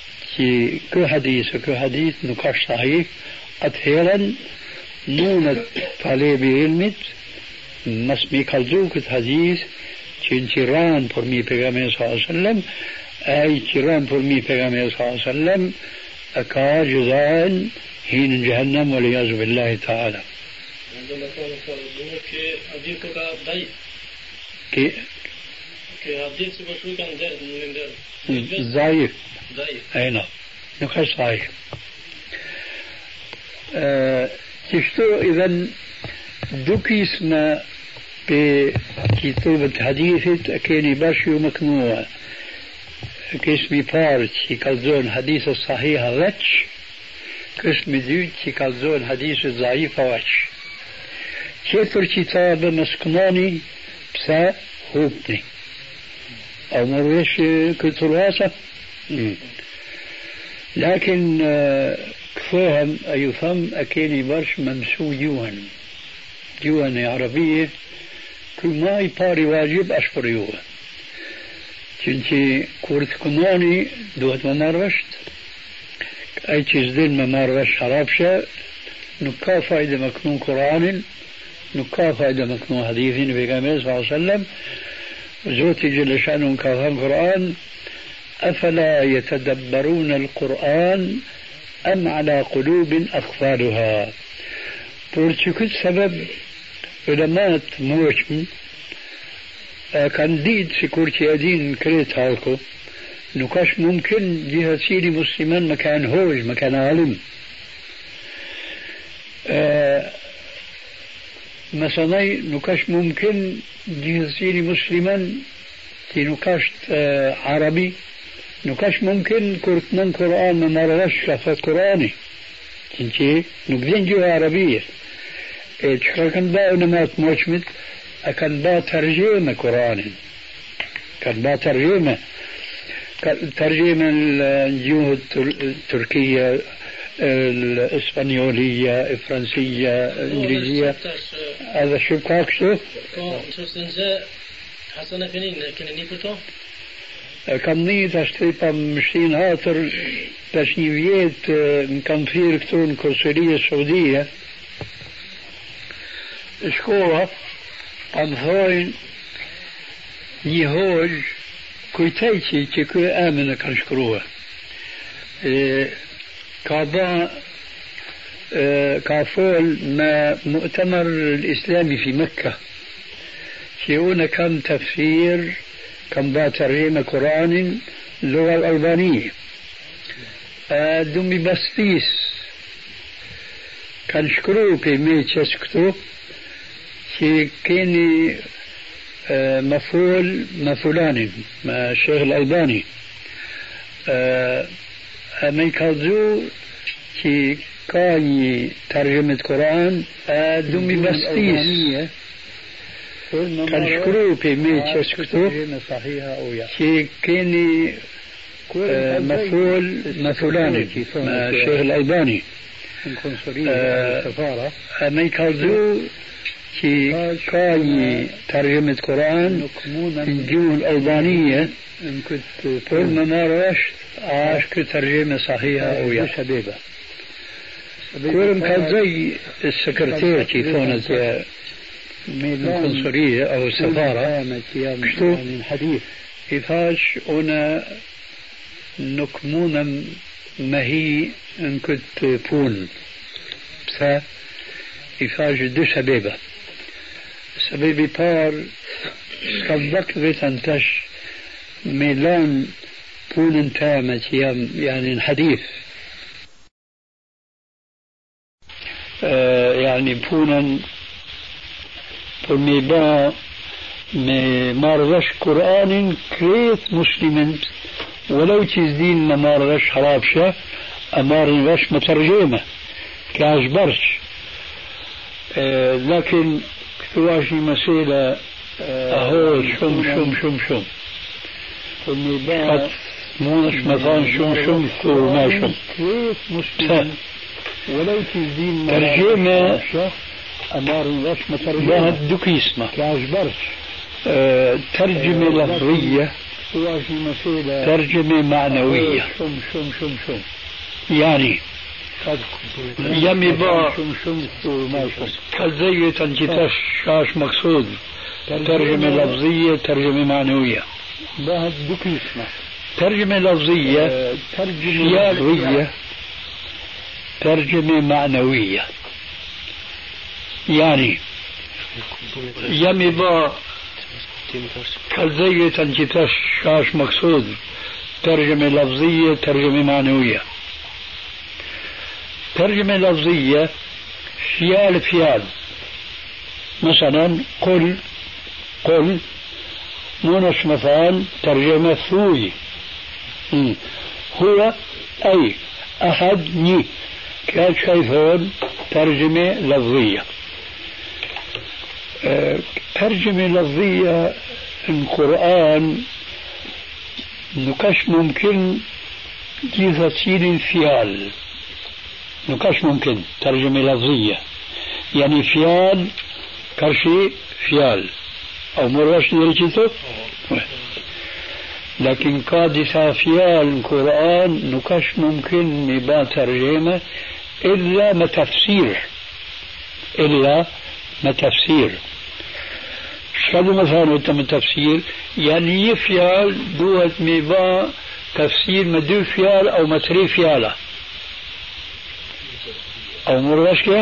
كحديث نكاش صحيح أتهيرا نونة طالب علمت مسمي كالزو كحديث تيران فرمي پیغمبر صلى الله عليه وسلم أي تيران فرمي پیغمبر صلى الله عليه وسلم أكا جزاء حين جهنم والعياذ بالله تعالى. عندما كان يقول كحديث كضعيف كحديث بشو كان ضعيف ضعيف أي نعم نقص صحيح. تشتو إذن دوكي اسمه بكتابة حديثة كيني باشي ومكنوع كاسمي بارت يكالزون حديث الصحيح غتش كاسمي ديوت يكالزون حديث الضعيف غتش كيفر كتاب مسكناني بسا هوبني أو مرويش كتراسة لكن كفاهم أيفهم أكيني برش ممسو جوهن عربية كل ما يباري واجب أشبر يوه چونچه كورت كناني دوت مماروشت أي چيز دين مماروش حرابشة نكا فايدة مكنون قرآن نكا فايدة مكنون حديثين في قامل صلى الله عليه وسلم زوتي جل شأنهم كافهم قرآن أفلا يتدبرون القرآن أم على قلوب أقفالها بورتشكل سبب علماء موجم كان ديد سيكورتي أدين كريت هالكو نكاش ممكن جهة سيري مسلمان مكان هوج مكان عالم مثلا نكاش ممكن جهة سيري مسلمان تي نكاش عربي نكاش ممكن كورتنان قرآن ممارغش شفت قرآني تنشي نبدين جهة عربية كان با علماء موجمد كان با ترجمة قرآن كان با ترجمة الجهة التركية الإسبانيولية الفرنسية الإنجليزية هذا شو كاكسو حسنا فينين كنا نيكوتو كم نيت أشتري مشتين هاتر تشنيفيات كان في ركتون كونسولية السعودية شكوة عن ثوين يهوج كويتايتي تكو آمنة كان شكروها كابا كافول ما مؤتمر الإسلامي في مكة شيونا كان تفسير كان با ترجمة قرآن اللغة الألبانية دمي بسبيس كان شكرو بمي تشكتو كي كيني مفعولان مع الشيخ الألباني أمي كازو كي كاني ترجمة قرآن دمي بسبيس كان شكرو بمي تشكتو كي كيني مفعولان مع الشيخ الألباني أمي كازو كي كاني ترجمة قرآن الجو الألبانية كل ما رشت عاش كترجمة صحيحة أو يا شبيبة كل كان زي السكرتير كيفونت القنصلية أو السفارة شتو إفاش أنا نكمونا ما هي إن كنت بون بسا إفاش دو سبيبة سبيبي بار كذلك بيتنتش ميلان بون تامة يعني الحديث يعني بونا فميبا مارغش قرآن كريت مسلما ولو تزدين ما مارغش حرابشة مارغش مترجمة كاجبرش لكن كتواشي مسيلة أهو شم فميبا مونش مثلا شم وما شم ولو تزدين ترجمة أمار رسمة ترجمة دوكي اسمه كأجبرش ترجمة لفظية ترجمة معنوية يعني يمي با كالزي تنجتش شاش مقصود ترجمة لفظية ترجمة معنوية ترجمة لفظية ترجمة ترجمة معنوية يعني يمي با كالزي تنجتش شاش مقصود ترجمة لفظية ترجمة معنوية ترجمة لفظية فيال مثلا قل مونش مثال ترجمة ثوي هو أي أحد ني كان شايفون ترجمة لفظية ترجمة لفظية القرآن نكش ممكن جيزتين فيال نكش ممكن ترجمة لفظية يعني فيال كرشي فيال أو مرش نرجته لكن قادسة فيال القرآن نكش ممكن نبا ترجمة إلا ما تفسير شكله مثلا وتم تفسير يعني يفيال دوت ميبا تفسير مدو فيال أو متري فيالة أو مرشكة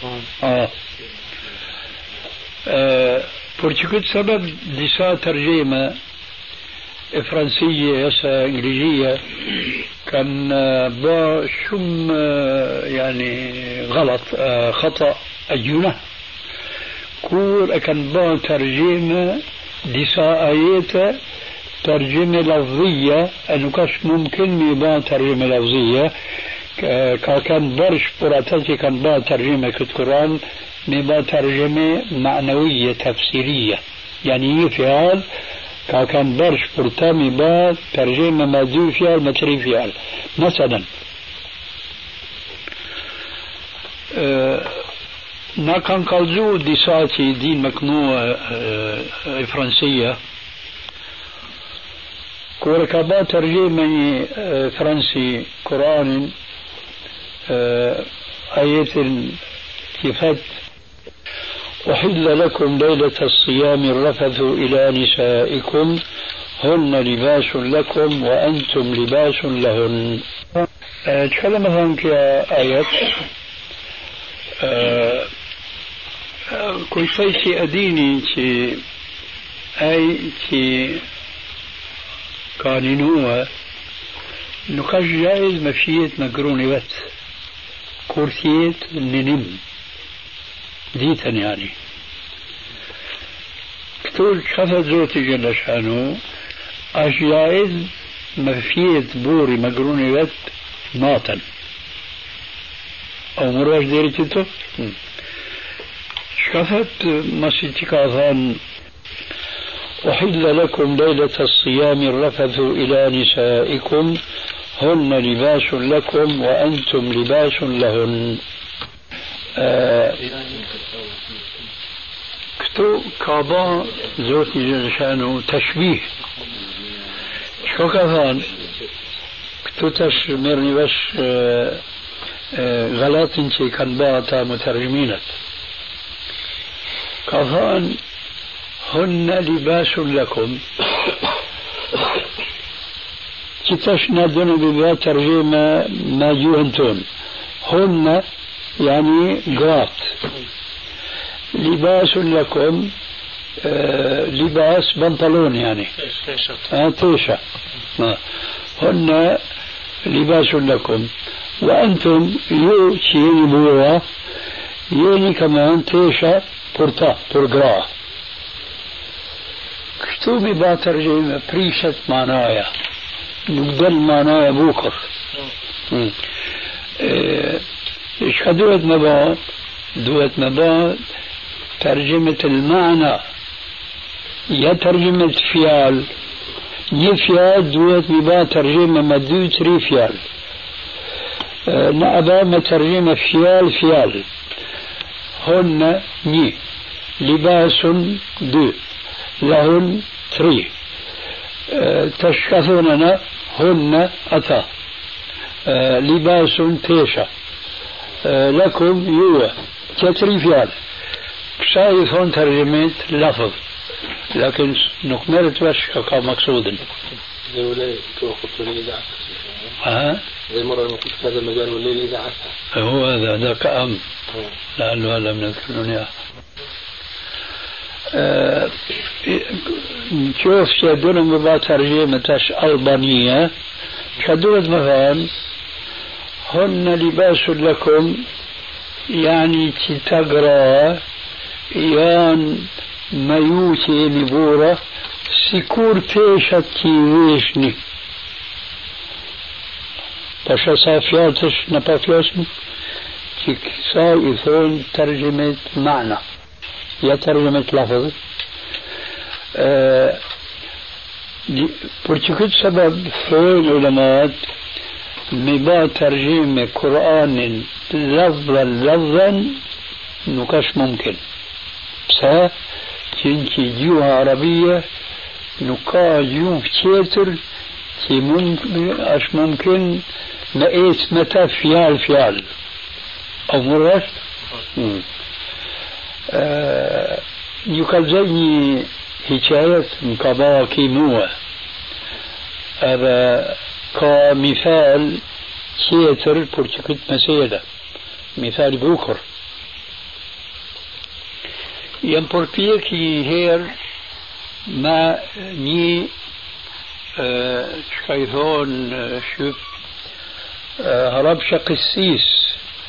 برشكت سبب دسا ترجمة فرنسية يسا إنجليزية كان با شم يعني غلط خطأ أجنة كور كان با ترجمة دسا آيات ترجمة لفظية أنه كاش ممكن ميبا ترجمة لفظية كان برش براتاتي كان با ترجمة كتقران ميبا ترجمة معنوية تفسيرية يعني يفعل كان برش برتا ميبا ترجمة مادو فيال متري فيال مثلا ناكن قلزو ديساتي دين مكنوة فرنسية كوركابا ترجمة فرنسي قرآن آيات كفت أحل لكم ليلة الصيام الرفث إلى نسائكم هن لباس لكم وأنتم لباس لهن تكلم هون كآيات كل شيء أديني أي قانونها نقاش جائز مفيت مقروني بس كورسيت ننم ديتا يعني كتول شفت زوتي جل شانو اش جائز مفيت بوري مقروني بس ناطن او مراج ديري تتو شفت مسيتك اظن أحل لكم ليلة الصيام الرفث إلى نسائكم هن لباس لكم وأنتم لباس لهن كتو كابا زوتي جنشانو تشبيه شو كفان كتو تشمرني بس غلط انتي كان باتا مترجمينت كفان هن لباس لكم كتشنا دون ببا ترجمة ما جوهنتون هن يعني قرات لباس لكم لباس بنطلون يعني تيشة هن لباس لكم وأنتم يو شيني بوا يوني كمان تيشة بورتا بورقرا كتوبي باترجمة بريشت معناها نقدر معناها بوكر ايش دوت مباد ترجمة المعنى يا ترجمة فيال يفيال دوت مباد ترجمة مدو تري فيال نأبا ما ترجمة فيال هن ني لباس دو لهن تري تشكثوننا هن أتا لباس تيشا لكم يوه كتري فيال شايف هون ترجمة لفظ لكن نكملت بس كمقصود زي ولاي توقف الإذاعة زي مرة ما كنت في هذا المجال والليل إذاعتها هو هذا ذاك أم لعله هذا من الكرونية شوف شدون ببعض ترجمة ألبانية شدون مثلا هن لباس لكم يعني تتقرأ يان ميوتي نبورة سيكور تيشت كيويشني باشا صافياتش نبافياسني كيكسا يثون ترجمة معنى يا ترجمة لفظ برشكت سبب فهم علماء مبا ترجمة قرآن لفظا نكاش ممكن بس كنتي جيوها عربية نكا جيوه كتير كي ممكن نقيت متى فيال أو مرات يقال زيني حكاية مكابا كيموة هذا كمثال كيتر برتكت مسيلة مثال بوكر يمبربيكي هير ما ني شكايثون شوف هربش قسيس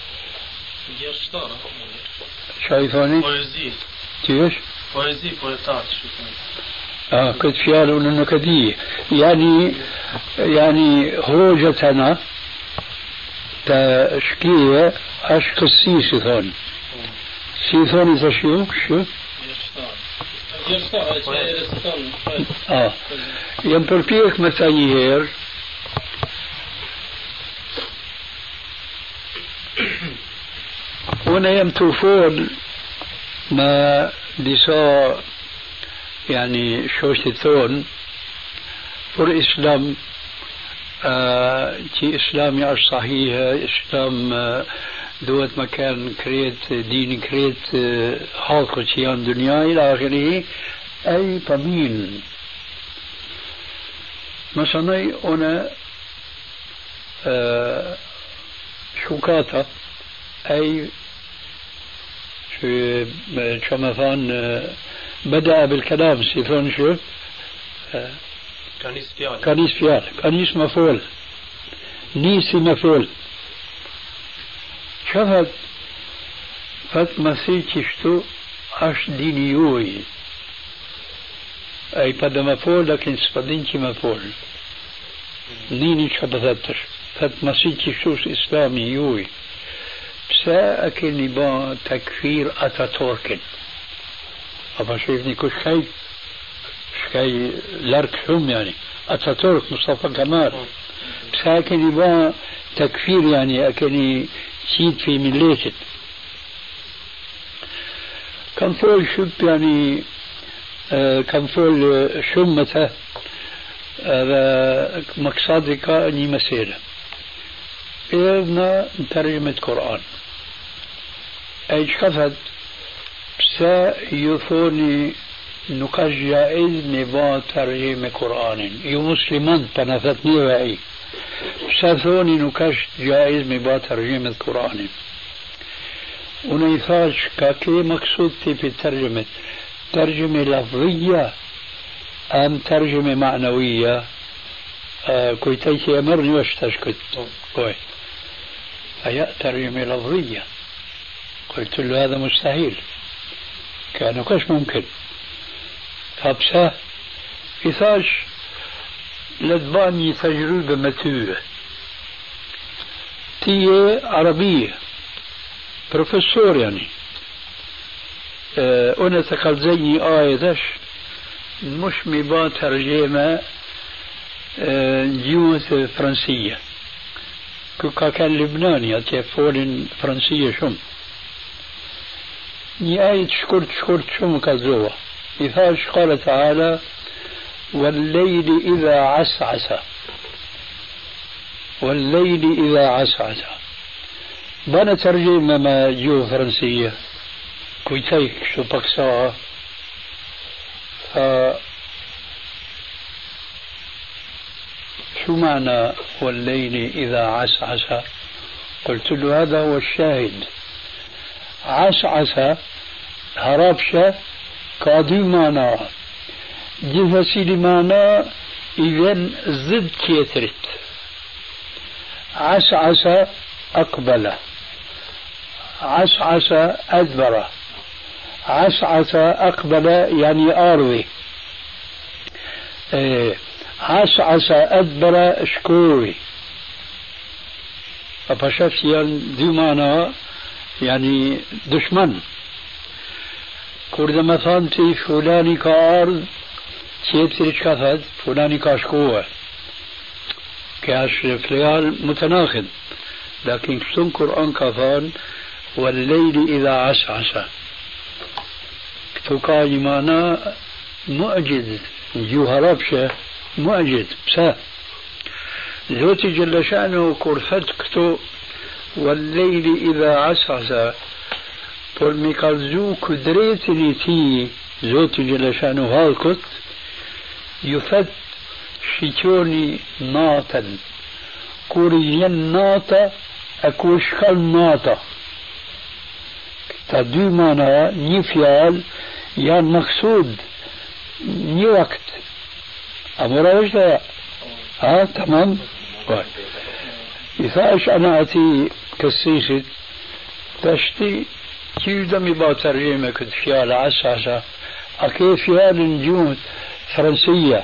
شايفوني كيف بويزي بوليتات كنت فيها النكدية يعني هوجتنا تشكية اش قسيس ثون سيثوني تشيوك شو يمبربيك متايير هنا يمتوفون ما ديسا يعني شوشتون فور إسلام كي إسلام يعش صحيح إسلام دوت مكان كريت دين كريت حلقة شيان دنيا إلى آخره أي طمين مثلا أنا شوكاتا أي شو مثلا بدأ بالكلام سيفون شو كنيس فيال كنيس مفعول نيسي مفعول شفت فت مسيح شتو اش دينيوي اي بدا مفعول لكن سبدينكي مفعول نيني شبثتش فت مسيح شتو اسلامي يوي بسا اكني با تكفير اتاتوركن أبا شايفني كل شيء لارك شم يعني أتاتورك مصطفى كمال بس أكني با تكفير يعني أكني سيد في مليتت كان فول شب يعني كان فول شمته هذا مقصدي كأني مسيرة إذن ترجمة قرآن أي شفت سيثوني نقاش جائز نبا ترجمة قرآن يمسلمان تنفتني وعي سيثوني نقاش جائز نبا ترجمة قرآن ونيثاش كاكي مقصود في ترجمة لفظية أم ترجمة معنوية كويتيك يمرني واشتشكت كوي هيا ترجمة لفظية قلت له هذا مستحيل كانوا كاش ممكن فبسا إثاش لدباني تجربة متوبة تي عربية بروفيسور يعني أنا تقلزيني آية مش مبا ترجمة جيوة فرنسية كان لبناني أتيفول فرنسية شم نهاية شكرت شو مكذوبة يفاش قال تعالى والليل إذا عسعس والليل إذا عسعس بنا ترجمة ما جو فرنسية كويتيك شو بكساها شو معنى والليل إذا عسعس قلت له هذا هو الشاهد عسعس هربشة كادو معنى جفسي لمعنى إذن ضد كيترت عسعس أقبل عسعس أدبر عسعس أقبل يعني أروي عسعس أدبر شكوري فشفت دي معنى يعني دشمن كورد مثلا تي فلاني كارض تيبتري كفد فلاني كاشكوه كاش فليال متناقض لكن كتن قرآن كفان والليل إذا عسعس كتوكا معنى معجز جوهربشة معجز بسا زوتي جل شأنه كرفت كتو والليل إذا عسعس والمكالزو كدريتني تي زوتي جل شأنه هالكت يفت شيتوني ناتا كوريين ناتا أكوشكال ناتا تدو مانا نفيال يان مقصود ني وقت أمورا وجه تمام إذا أنا أتي كسيسة تشتي كيف دمي با ترجمة كنت فيال عساسة أكي فيال نجوم فرنسية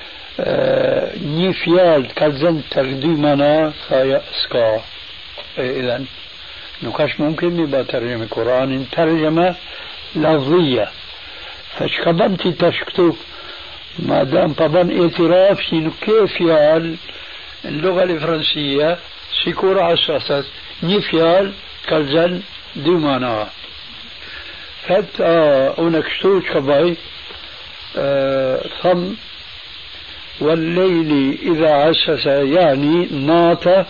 ني فيال كالزن تقدي منا خايا سكا إذن نكاش ممكن با ترجمة قرآن ترجمة لفظية فشكبنتي تشكتو ما دام طبعا اعتراف شنو كيف يال اللغة الفرنسية سيكون عساسة ني فيال كالزن دي منا فت أونكشتو شباي ثم والليل إذا عسس يعني ناطة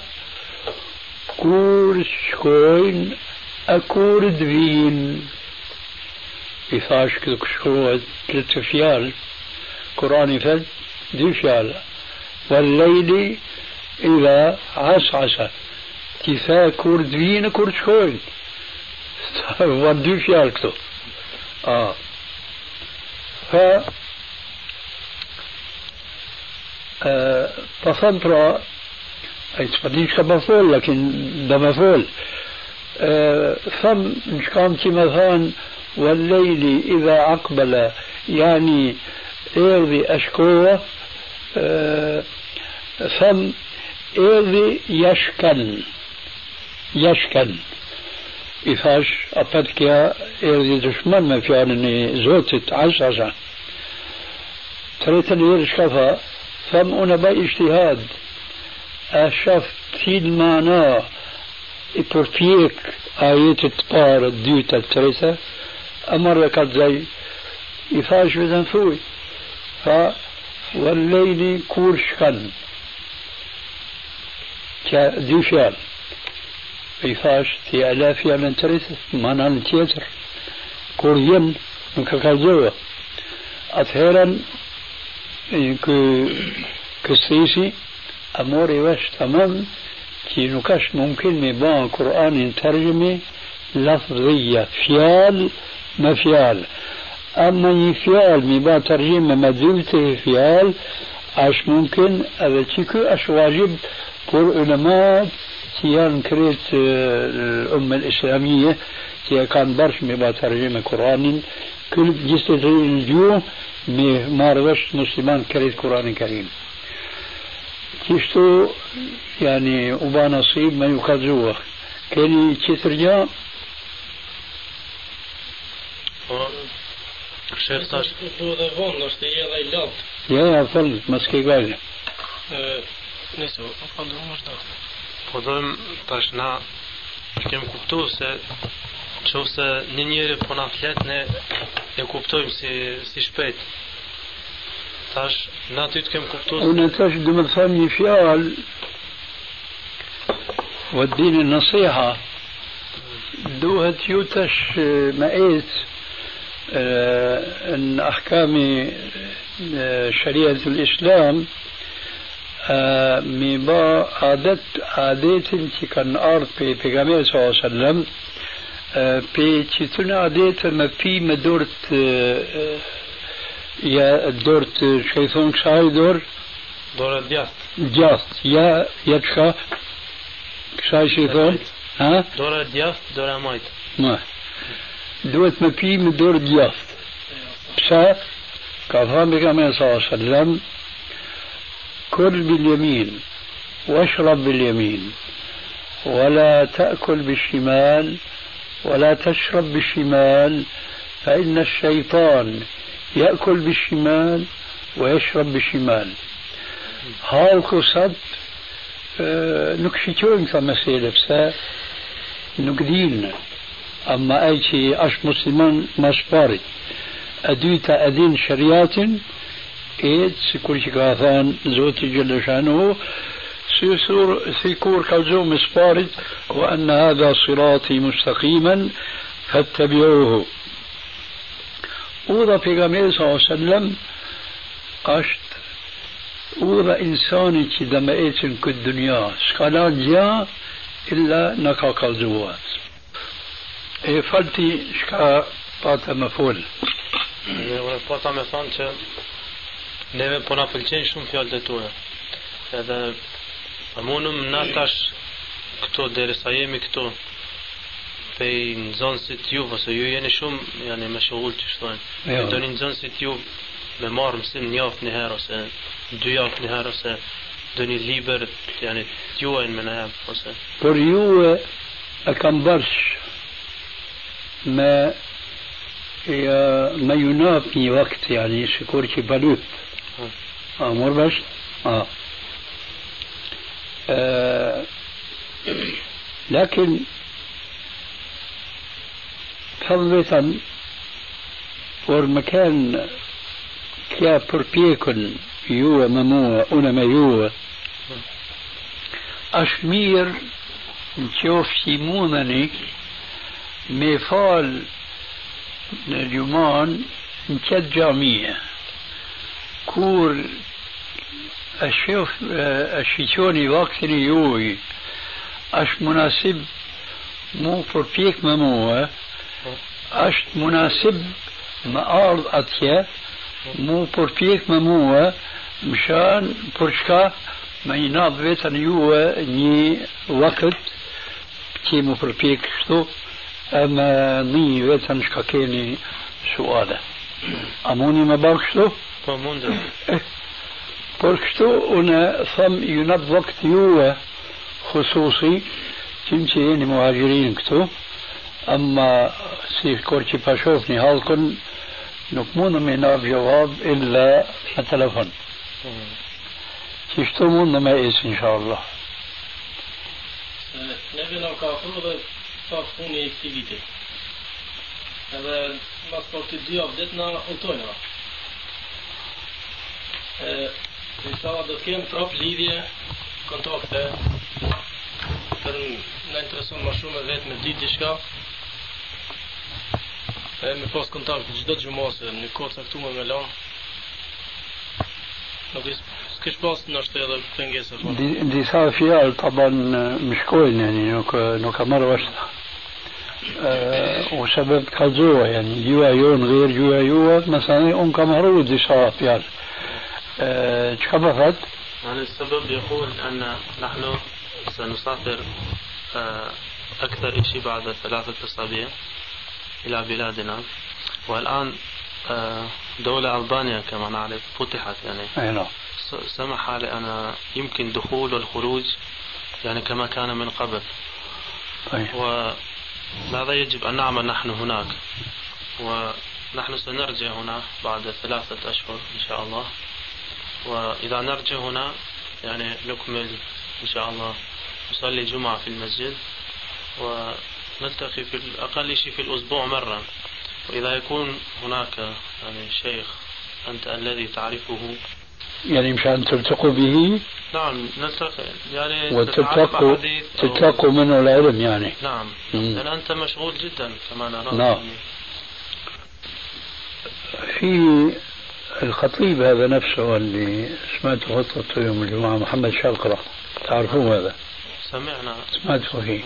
كور شكوين أكور دوين إفاش كدك شكوين ثلاث فيال قرآن فد دي فيال والليل إذا عسعس كيفا كور دوين كور شكوين ودي فيال كتو تصنطرة أي تفضيش كمفول لكن ده مفول ثم مش كانت مثلا والليل إذا أقبل يعني إرضي أشكوه ثم إرضي يشكن إفاش أبدك يا إرضي دشمن ما في أنني زوتت عساسا تريتني يرشكفها ثم أنا باجتهاد أشفت في المعنى إبرفيك آية الطار الديوتة التريسة أمر لك زي إفاش بذنفوي والليل كورشكن كديوشال إفاش في آلاف من تريسة معنى التياتر كوريين من كالزوة أثيرا كسيسي أموري وش تمام كي نكاش ممكن مبان قرآن ترجمة لفظية فيال ما فيال أما يفيال مبان ترجمة مدلته فيال أش ممكن أبتكو أش واجب بور علماء تيان كريت الأمة الإسلامية تيان كان برش مبان ترجمة قرآن كل جسد الجو ما رغش مسلمان كريت قرآن كريم كيشتو يعني وبا نصيب ما يكذوه كاني تشترجع شيخ tash duhet e vonë është e jella I lat. Ja, fal, mas ke gale. Nëse apo ndonjë është. Po dojmë tash na kem kuptuar se qoftë se një njeri po na flet ne e kuptojmë si shpejt. Tash na ty të kem kuptuar. Unë tash do të them një fjalë وديني النصيحة دوهت يوتش مقيت ان احكام شريعة الاسلام ميبا عادات انتي كان ارض بيغامير صلى الله عليه وسلم بيتشتون عادات ما في مدورت يا دورت شيطان كساي دور دياست يا يتشا كساي شيطان ها دورة دياست دورة مايت ما دوت ما في مدور دياست بسا كفام بكما صلى الله عليه وسلم كل باليمين واشرب باليمين ولا تأكل بالشمال ولا تشرب بالشمال فإن الشيطان يأكل بالشمال ويشرب بالشمال هاو قصد نكشيتون كمسيلة بسا نكدين أما أي شيء أش مسلمان مشباري أدويتا أدين شريات إيد سيكون شكاثان زوتي جل شانه سيكون كالزوم مشباري وأن هذا صراطي مستقيما فاتبعوه وضع في غمير صلى الله عليه وسلم أشت وضع إنساني كي دمائتن كالدنيا سكالان جا إلا نكا كالزوات E falti shka pata më fol. Unë pata me thonë që neve po na pëlqejnë shumë fjalët e tua. Edhe munëm na tash këto derisa jemi këto pe nxënësit ju ose ju jeni shumë janë me shogull që shtojnë. Doni nxënësit ju me marrë mësim një javë një herë ose 2 javë një herë ose doni liber janë t'juajnë me në herë ose. Por ju e kam bërsh ما ما ينافي وقت يعني سكورتي بلوت مر بس لكن فضلا والمكان كيا بربيكن يو ممو انا ما يو اشمير نشوف سيمونني me fal në gjuman në qëtë gjamia kur e shiqoni vaktin e juj është munasib mu përpjek me mua është munasib me ardh atje mu përpjek me mua mshan për shka me i nadh vetën juve një vakët që mu përpjek kështu أما ني ويتن شكاكيني سؤالا أموني ما باكشتو فموندو بركشتو أنا ثم ينب وقت يوه خصوصي تمشيني مهاجرين كتو أما سيف كورتي باشوفني هالكن نكمون من ناب جواب إلا التلفون تشتو مون ما إيس إن شاء الله نبي نوكافر sa funi I këtij viti. Edhe mas për të 2 javë ditë na udhtojnë. Inshallah do të kem prap lidhje, kontakte. Për na intereson më shumë vetë me ditë diçka. Me pas kontakt çdo xhumose në kohë caktuar me lan. Nuk s'kesh pas nështë edhe pengesa. Disa fjalë طبعا më shkojnë yani nuk ka marrë vashta. وسبب كالزوة يعني جوا يون غير جوا يوا مثلا أم كمهرود دي صافيال تشبفت يعني السبب يقول أن نحن سنسافر أكثر شيء بعد 3 أسابيع إلى بلادنا والآن دولة ألبانيا كما نعرف فتحت يعني سمح لنا يمكن دخول والخروج يعني كما كان من قبل وهذا يجب أن نعمل نحن هناك ونحن سنرجع هنا بعد 3 أشهر إن شاء الله وإذا نرجع هنا يعني نكمل إن شاء الله نصلي جمعة في المسجد نلتقي في الأقل شيء في الأسبوع مرة، وإذا يكون هناك يعني شيخ أنت الذي تعرفه يعني مشان تلتقوا به. نعم نلتقي يعني تتلقوا منه العلم يعني. نعم لأن أنت مشغول جدا كما نرى. نعم. في الخطيب هذا نفسه اللي سمعته خطبته يوم الجمعة، محمد شاقرة، تعرفون هذا؟ سمعنا سمعته فيه.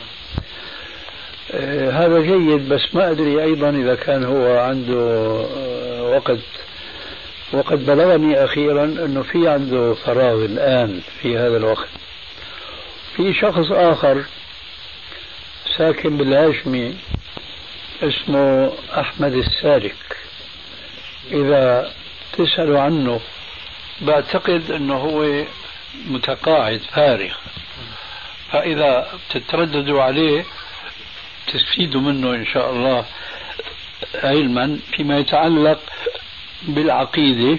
هذا جيد، بس ما أدري أيضا إذا كان هو عنده وقت. وقد بلغني أخيرا أنه في عنده فراغ الآن في هذا الوقت. في شخص آخر ساكن بالهاشمي اسمه أحمد السالك، إذا تسألوا عنه بعتقد أنه هو متقاعد فارغ، فإذا تترددوا عليه تستفيدوا منه إن شاء الله علما فيما يتعلق بالعقيدة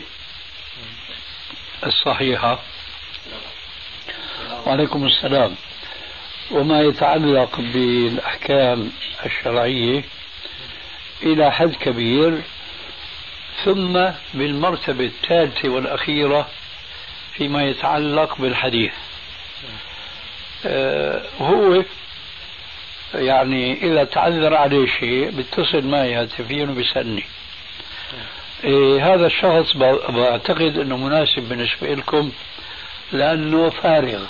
الصحيحة. وعليكم السلام. وما يتعلق بالأحكام الشرعية إلى حد كبير، ثم بالمرتبة الثالثة والأخيرة فيما يتعلق بالحديث. هو يعني إذا تعذر عليه شيء بيتصل معي هاتفيا وبيسألني. هذا الشخص بعتقد أنه مناسب بالنسبة لكم لأنه فارغ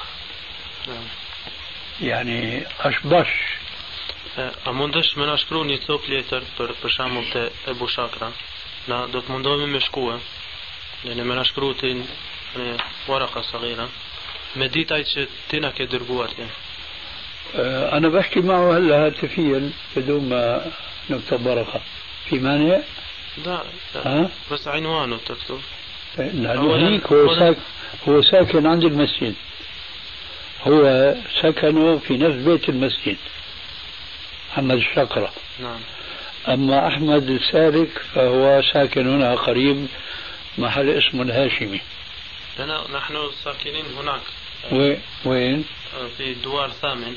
يعني أشبش. A mundesh me na shkru një copë letër për shembull te Ebu Shakra, na do të mundohemi me shkruaj, ne me na shkru ti në waraka saghira me ditaj që ti na ke dërguar ti. أنا بحكي معه هلا هاتفيا بدون ما نكتب ورقة. في مانع؟ لا بس عنوانه تكتب. هيك هو ساكن عند المسجد، هو سكنه في نفس بيت المسجد، محمد الشقرة. نعم. أما أحمد السالك فهو ساكن هنا قريب، محل اسمه الهاشمي. نحن ساكنين هناك. وين؟ في الدوار الثامن.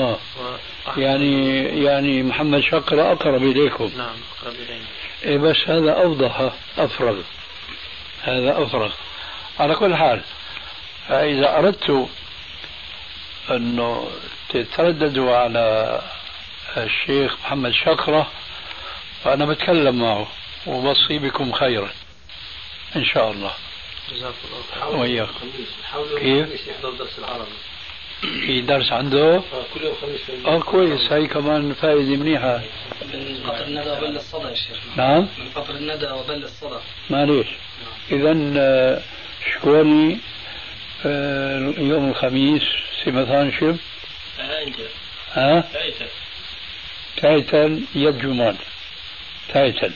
يعني محمد شقرة أقرب إليكم. نعم أقرب إلينا. بس هذا أوضح أفرغ، هذا أفرغ. على كل حال، فإذا أردت أنه تترددوا على الشيخ محمد شقرة فأنا بتكلم معه وبصي بكم خيرا إن شاء الله. جزاك الله. وياكم. كيف؟ يحضر درس العربي. في درس عنده؟ كل يوم خميس. كويس، هاي كمان فائدة منيحة. من قطر الندى وبل الصدى يا شيخ. نعم؟ من قطر الندى وبل الصدى. معليش. إذن شكوني يوم الخميس سمثان شب؟ تايتن يد جمان تايتن.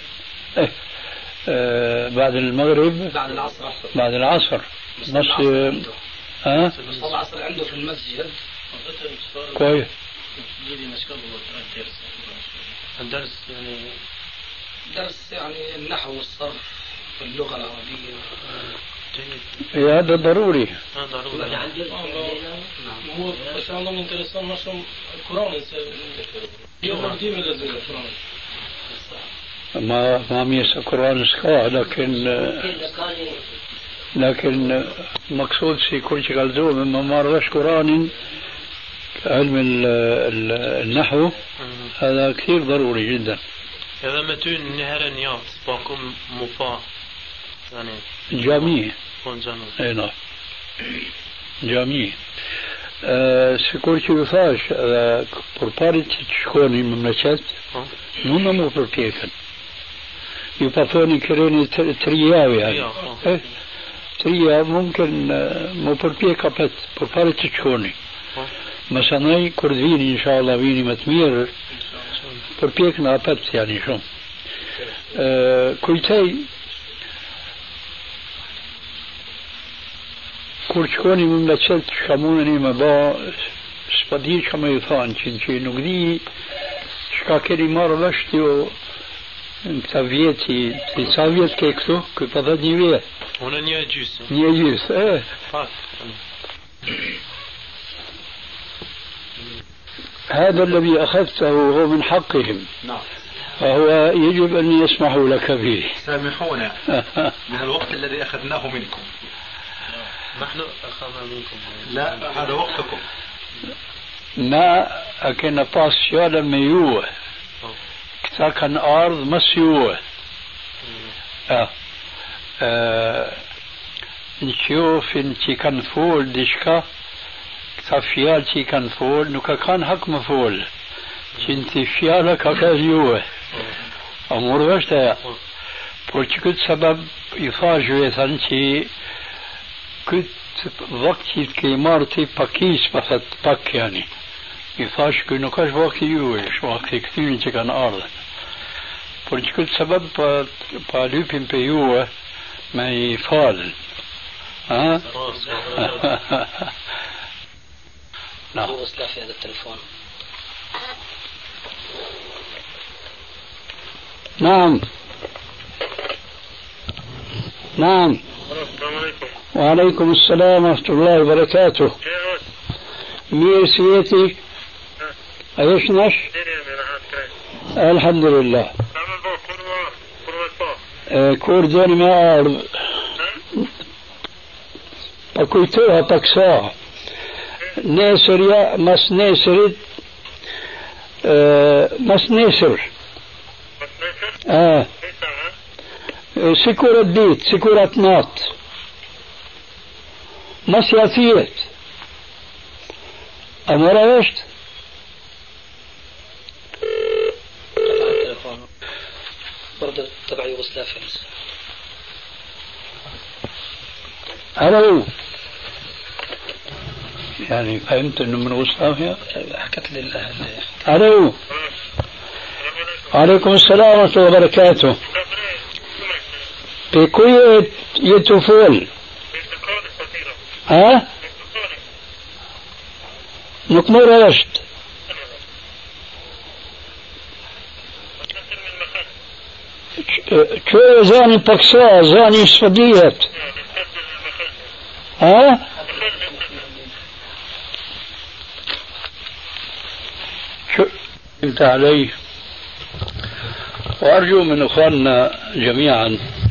بعد المغرب بعد العصر نص العصر عنده في المسجد. كويس. الدرس يعني النحو والصرف واللغة العربية. هذا ضروري. هو بس الله من كرسان مشروم القرآن يوم الدين لازم القرآن ما ميس القرآن سكوا، لكن مقصود سي كل شيء قالوا مما مرش قرآن علم النحو هذا كثير ضروري جدا. هذا متون نهرانيات باكم مفا يعني جامعي. اي نعم جامعي. Sikur që ju thash, për parit që të shkoni më mëqet, nuk më përpjekën. Ju pa thoni këreni 3 javë. 3 javë mumkin më përpjek apet, për parit që të shkoni. Mësanaj, kur të vini, inshallah, vini më të mirë, përpjek në apet, yani shumë. Kujtej, kur shkoni më mëqet, shka mundeni me ba, s'pa di që me ju thanë, që nuk di shka keni marrë lësht ju në këta vjeti, sa vjet ke këtu? Këtë pa dhe 1 vjet. Unë 1 gjysë. 1 gjysë, هذا الذي أخذته هو من حقهم. نعم. فهو يجب أن يسمحوا لك به. سامحونا من الوقت الذي أخذناه منكم. نحن أخذنا منكم. لا هذا وقتكم. ما أكن باس شوالا ميوه كتا كان أرض مسيوه. نشوف انتي كان فول ديشكا كتا فيالتي كان فول نوكا كان حق مفول انتي فيالا كاكازيوه أمور وشتا porque këtë sebeb I thash vetën që këtë vakti të ke marrë ti pakis, pa thët pak yani. I thash që nuk është vakti juaj, është vakti këtyrin që kanë ardhën. Por që këtë sebeb pa lypin për juaj me I falën. ها؟ نعم. في هذا التليفون. نعم. نعم. السلام عليكم. وعليكم السلام ورحمة الله وبركاته. مير سيتي ايش نش؟ الحمد لله. كوردون ما أعرف. أكويتوها تكسا ناسر مس ناسر مس ناسر سكورة بيت سكورة نات مس يافيت أمورا وشت برضه تبع يوغوسلافيا. ألو يعني فهمت انه من يوغوسلافيا؟ حكت لله. ألو عليكم السلام ورحمة الله وبركاته. بكوية يتفول ها؟ نكمل رشد شو زاني بكسا زاني صديت ها؟ شو فهمت علي؟ وأرجو من أخواننا جميعا